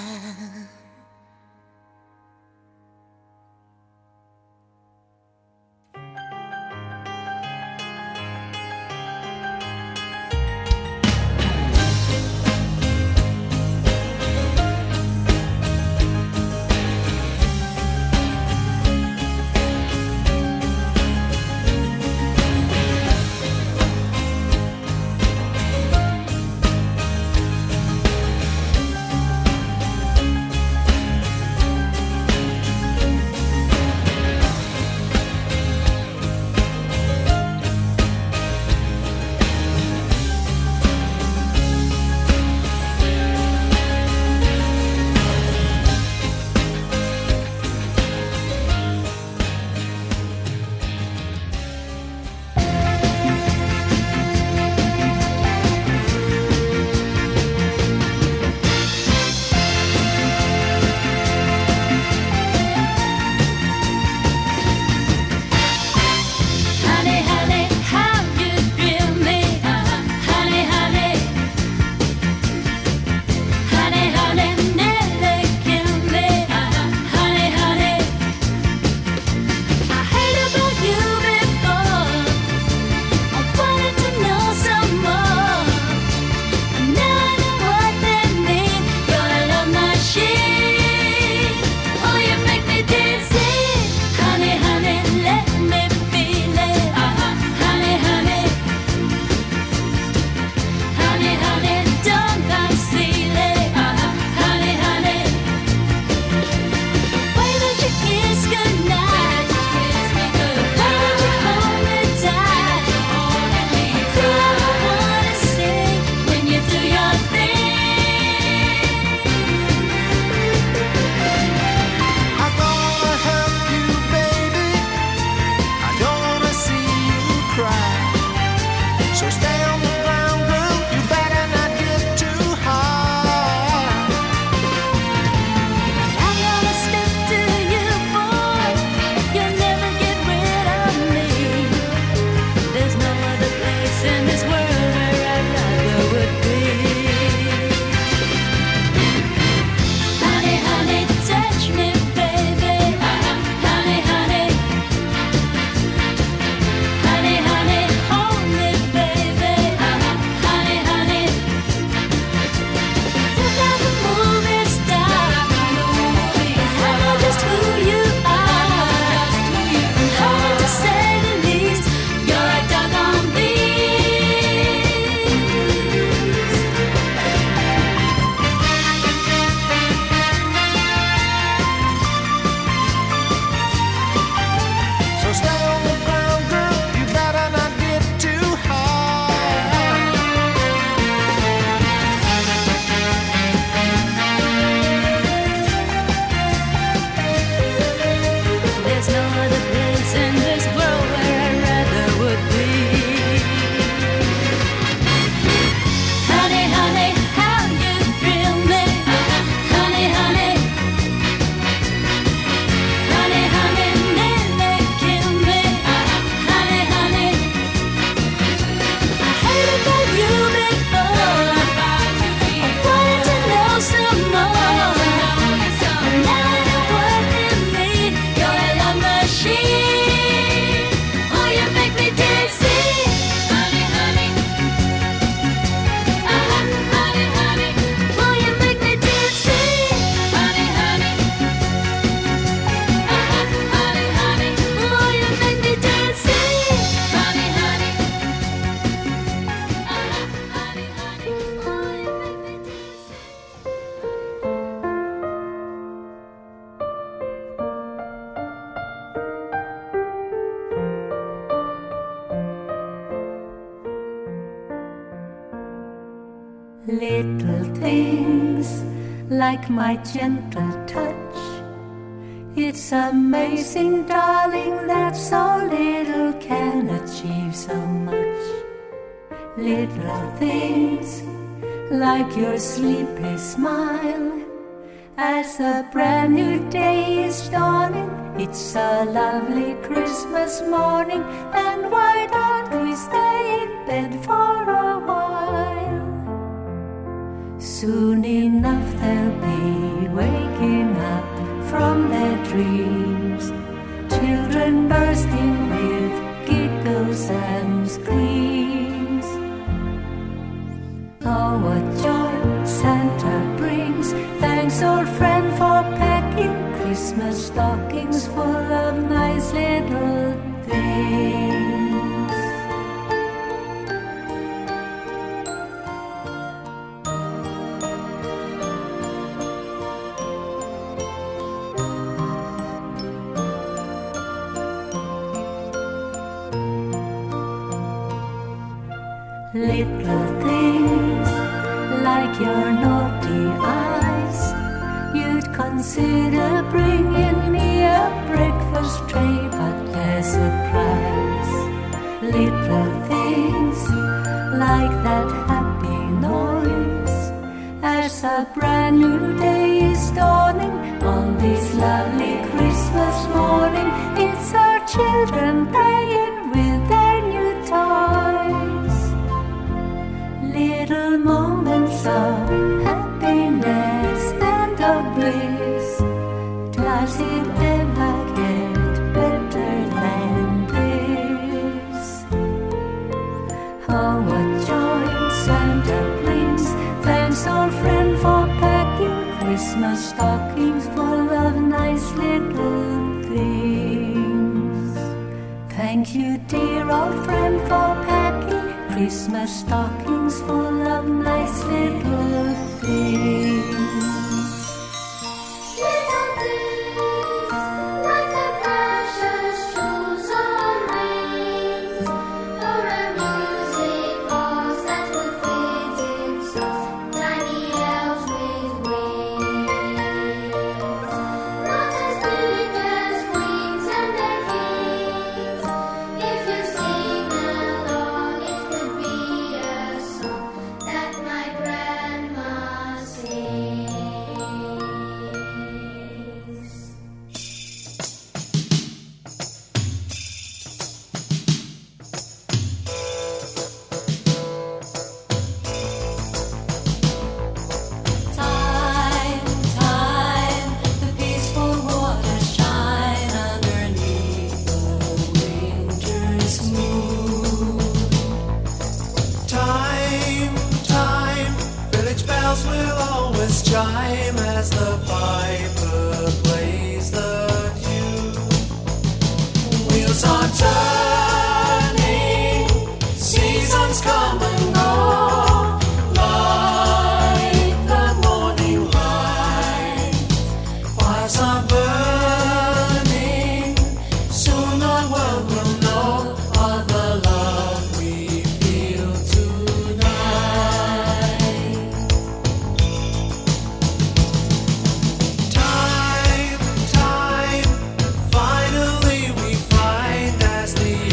Little things like my gentle touch. It's amazing, darling, that so little can achieve so much. Little things like your sleepy smile as a brand new day is dawning. It's a lovely Christmas morning, and why don't we stay in bed for a while? Soon enough they'll be waking up from their dreams, children bursting with giggles and screams. Oh, what joy Santa brings! Thanks, old friend, for packing Christmas stockings full of nice little things. Little things like your naughty eyes, you'd consider bringing me a breakfast tray, but there's a price. Little things like that happy noise as a brand new day is dawning on this lovely Christmas morning. It's our children playing with their new toys. Little moments of happiness and of bliss. Does it ever get better than this? Oh, what joy Santa brings! Thanks, old friend, for packing Christmas stockings full of nice little things. Thank you, dear old friend, for packing Christmas stockings full of nice little things. Little things like the precious jewels on rings, or a music box that will fit in songs, tiny elves with wings. Not as big as wings and their kings. If you sing along, it could be a song that my grandma sings. Time, time, the peaceful waters shine underneath the winter's moon. Time, time, village bells will always chime as the piper plays the tune. Wheels are turning, seasons come and go, like the morning light. Fires are burning, soon the world will know of the love we feel tonight. Time, time, finally we find as the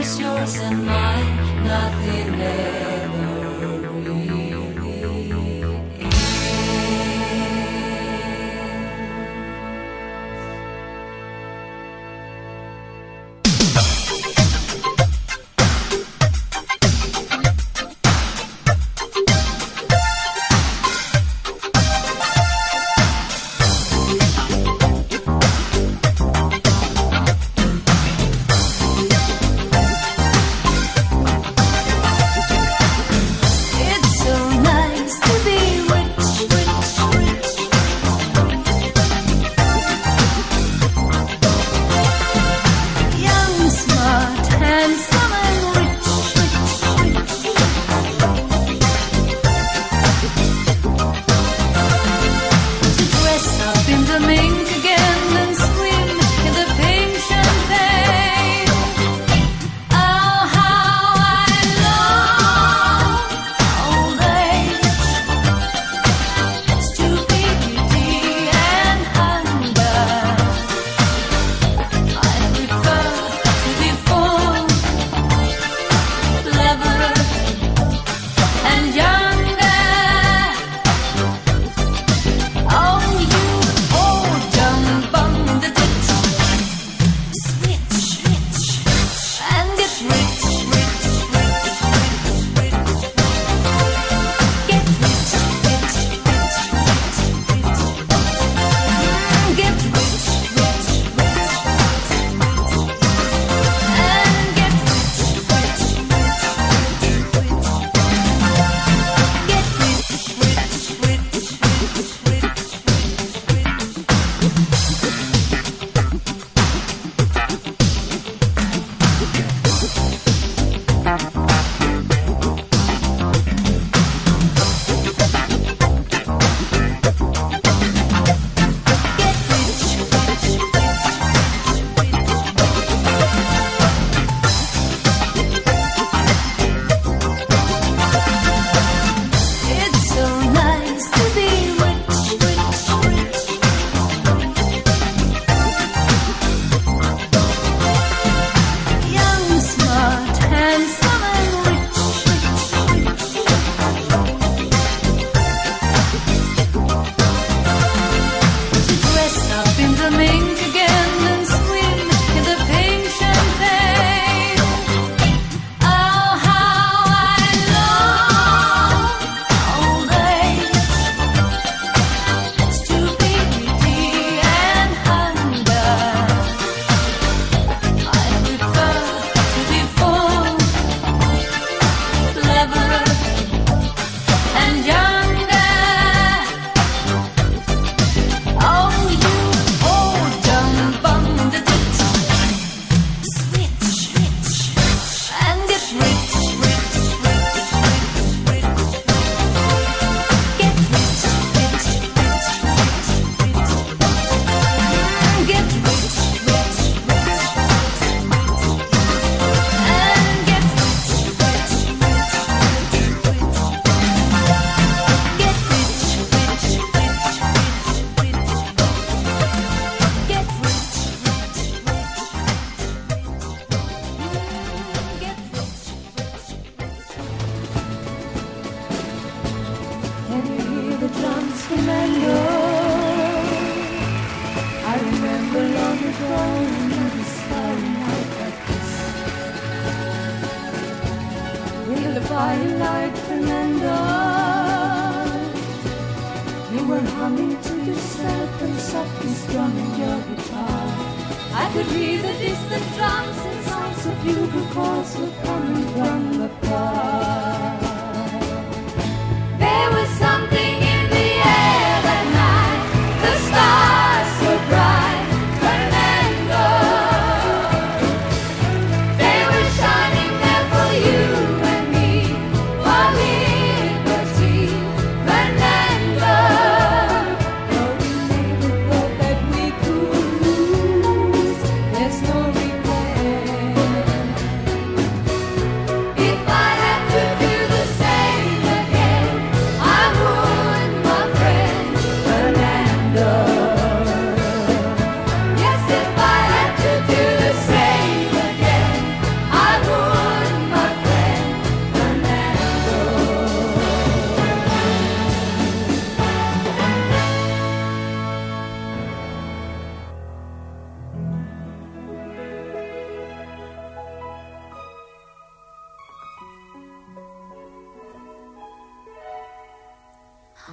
is yours and mine, nothing ever really ends.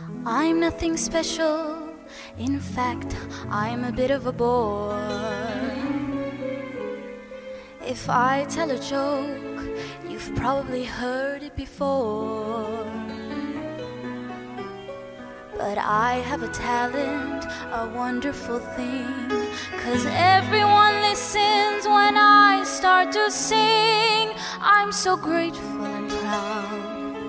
I'm nothing special. In fact, I'm a bit of a bore. If I tell a joke, you've probably heard it before. But I have a talent, a wonderful thing, 'cause everyone listens when I start to sing. I'm so grateful and proud.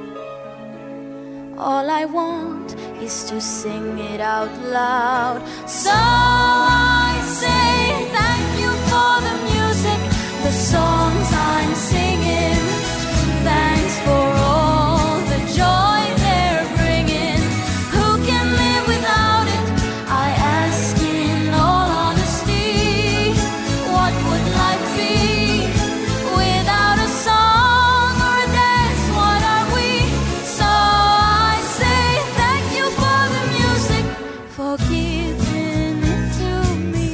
All I want is to sing it out loud. So I say thank you for the music, the songs I'm singing. Thanks for all the joy they're bringing. Who can live without it? I ask in all honesty. What would life be without a song or a dance? What are we? So I say thank you for the music, for giving it to me.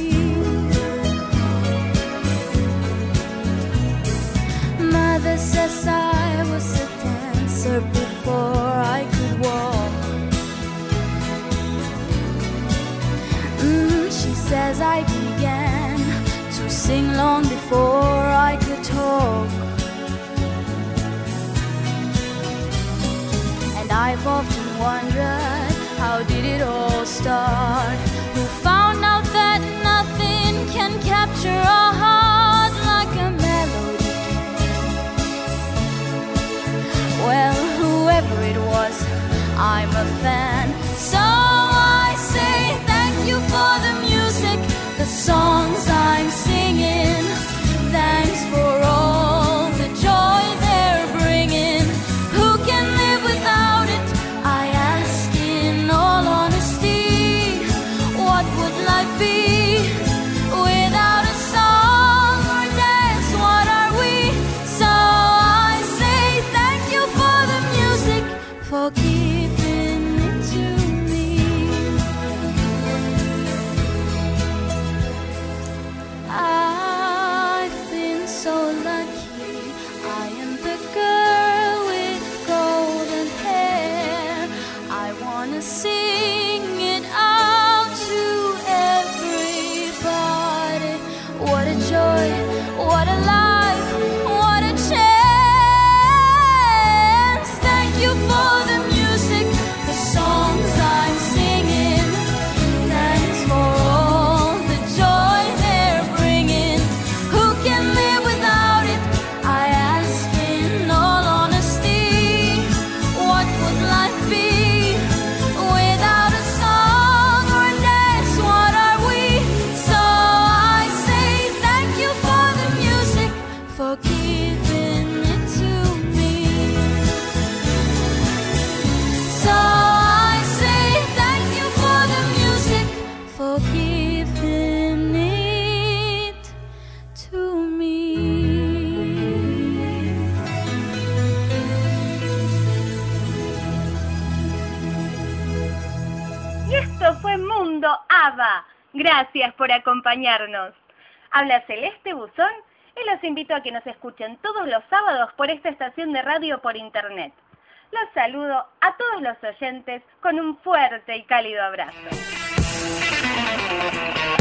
Mother says I was a dancer before I could walk. She says I began to sing long before I could talk. And I've often wondered, how did it all start? Who found out that nothing can capture a heart like a melody? Well, whoever it was, I'm a fan. So I say thank you for the music, the songs I'm singing. Thanks for all the joy they're bringing. Who can live without it? I ask in all honesty. What would life be without a song or dance? What are we? So I say thank you for the music, for giving it to me. I've been so lucky. I am the girl with golden hair. I wanna sing it out to everybody. What a joy, what a life, what a chance. Thank you for the music, the songs I'm singing. Thanks for all the joy they're bringing. Who can live without it? I ask in all honesty. What would life be without a song or a dance? What are we? So I say thank you for the music, for giving it to me. So I say thank you for the music, for giving it to me. Y esto fue Mundo ABBA. Gracias por acompañarnos. Habla Celeste Buzón y los invito a que nos escuchen todos los sábados por esta estación de radio por internet. Los saludo a todos los oyentes con un fuerte y cálido abrazo.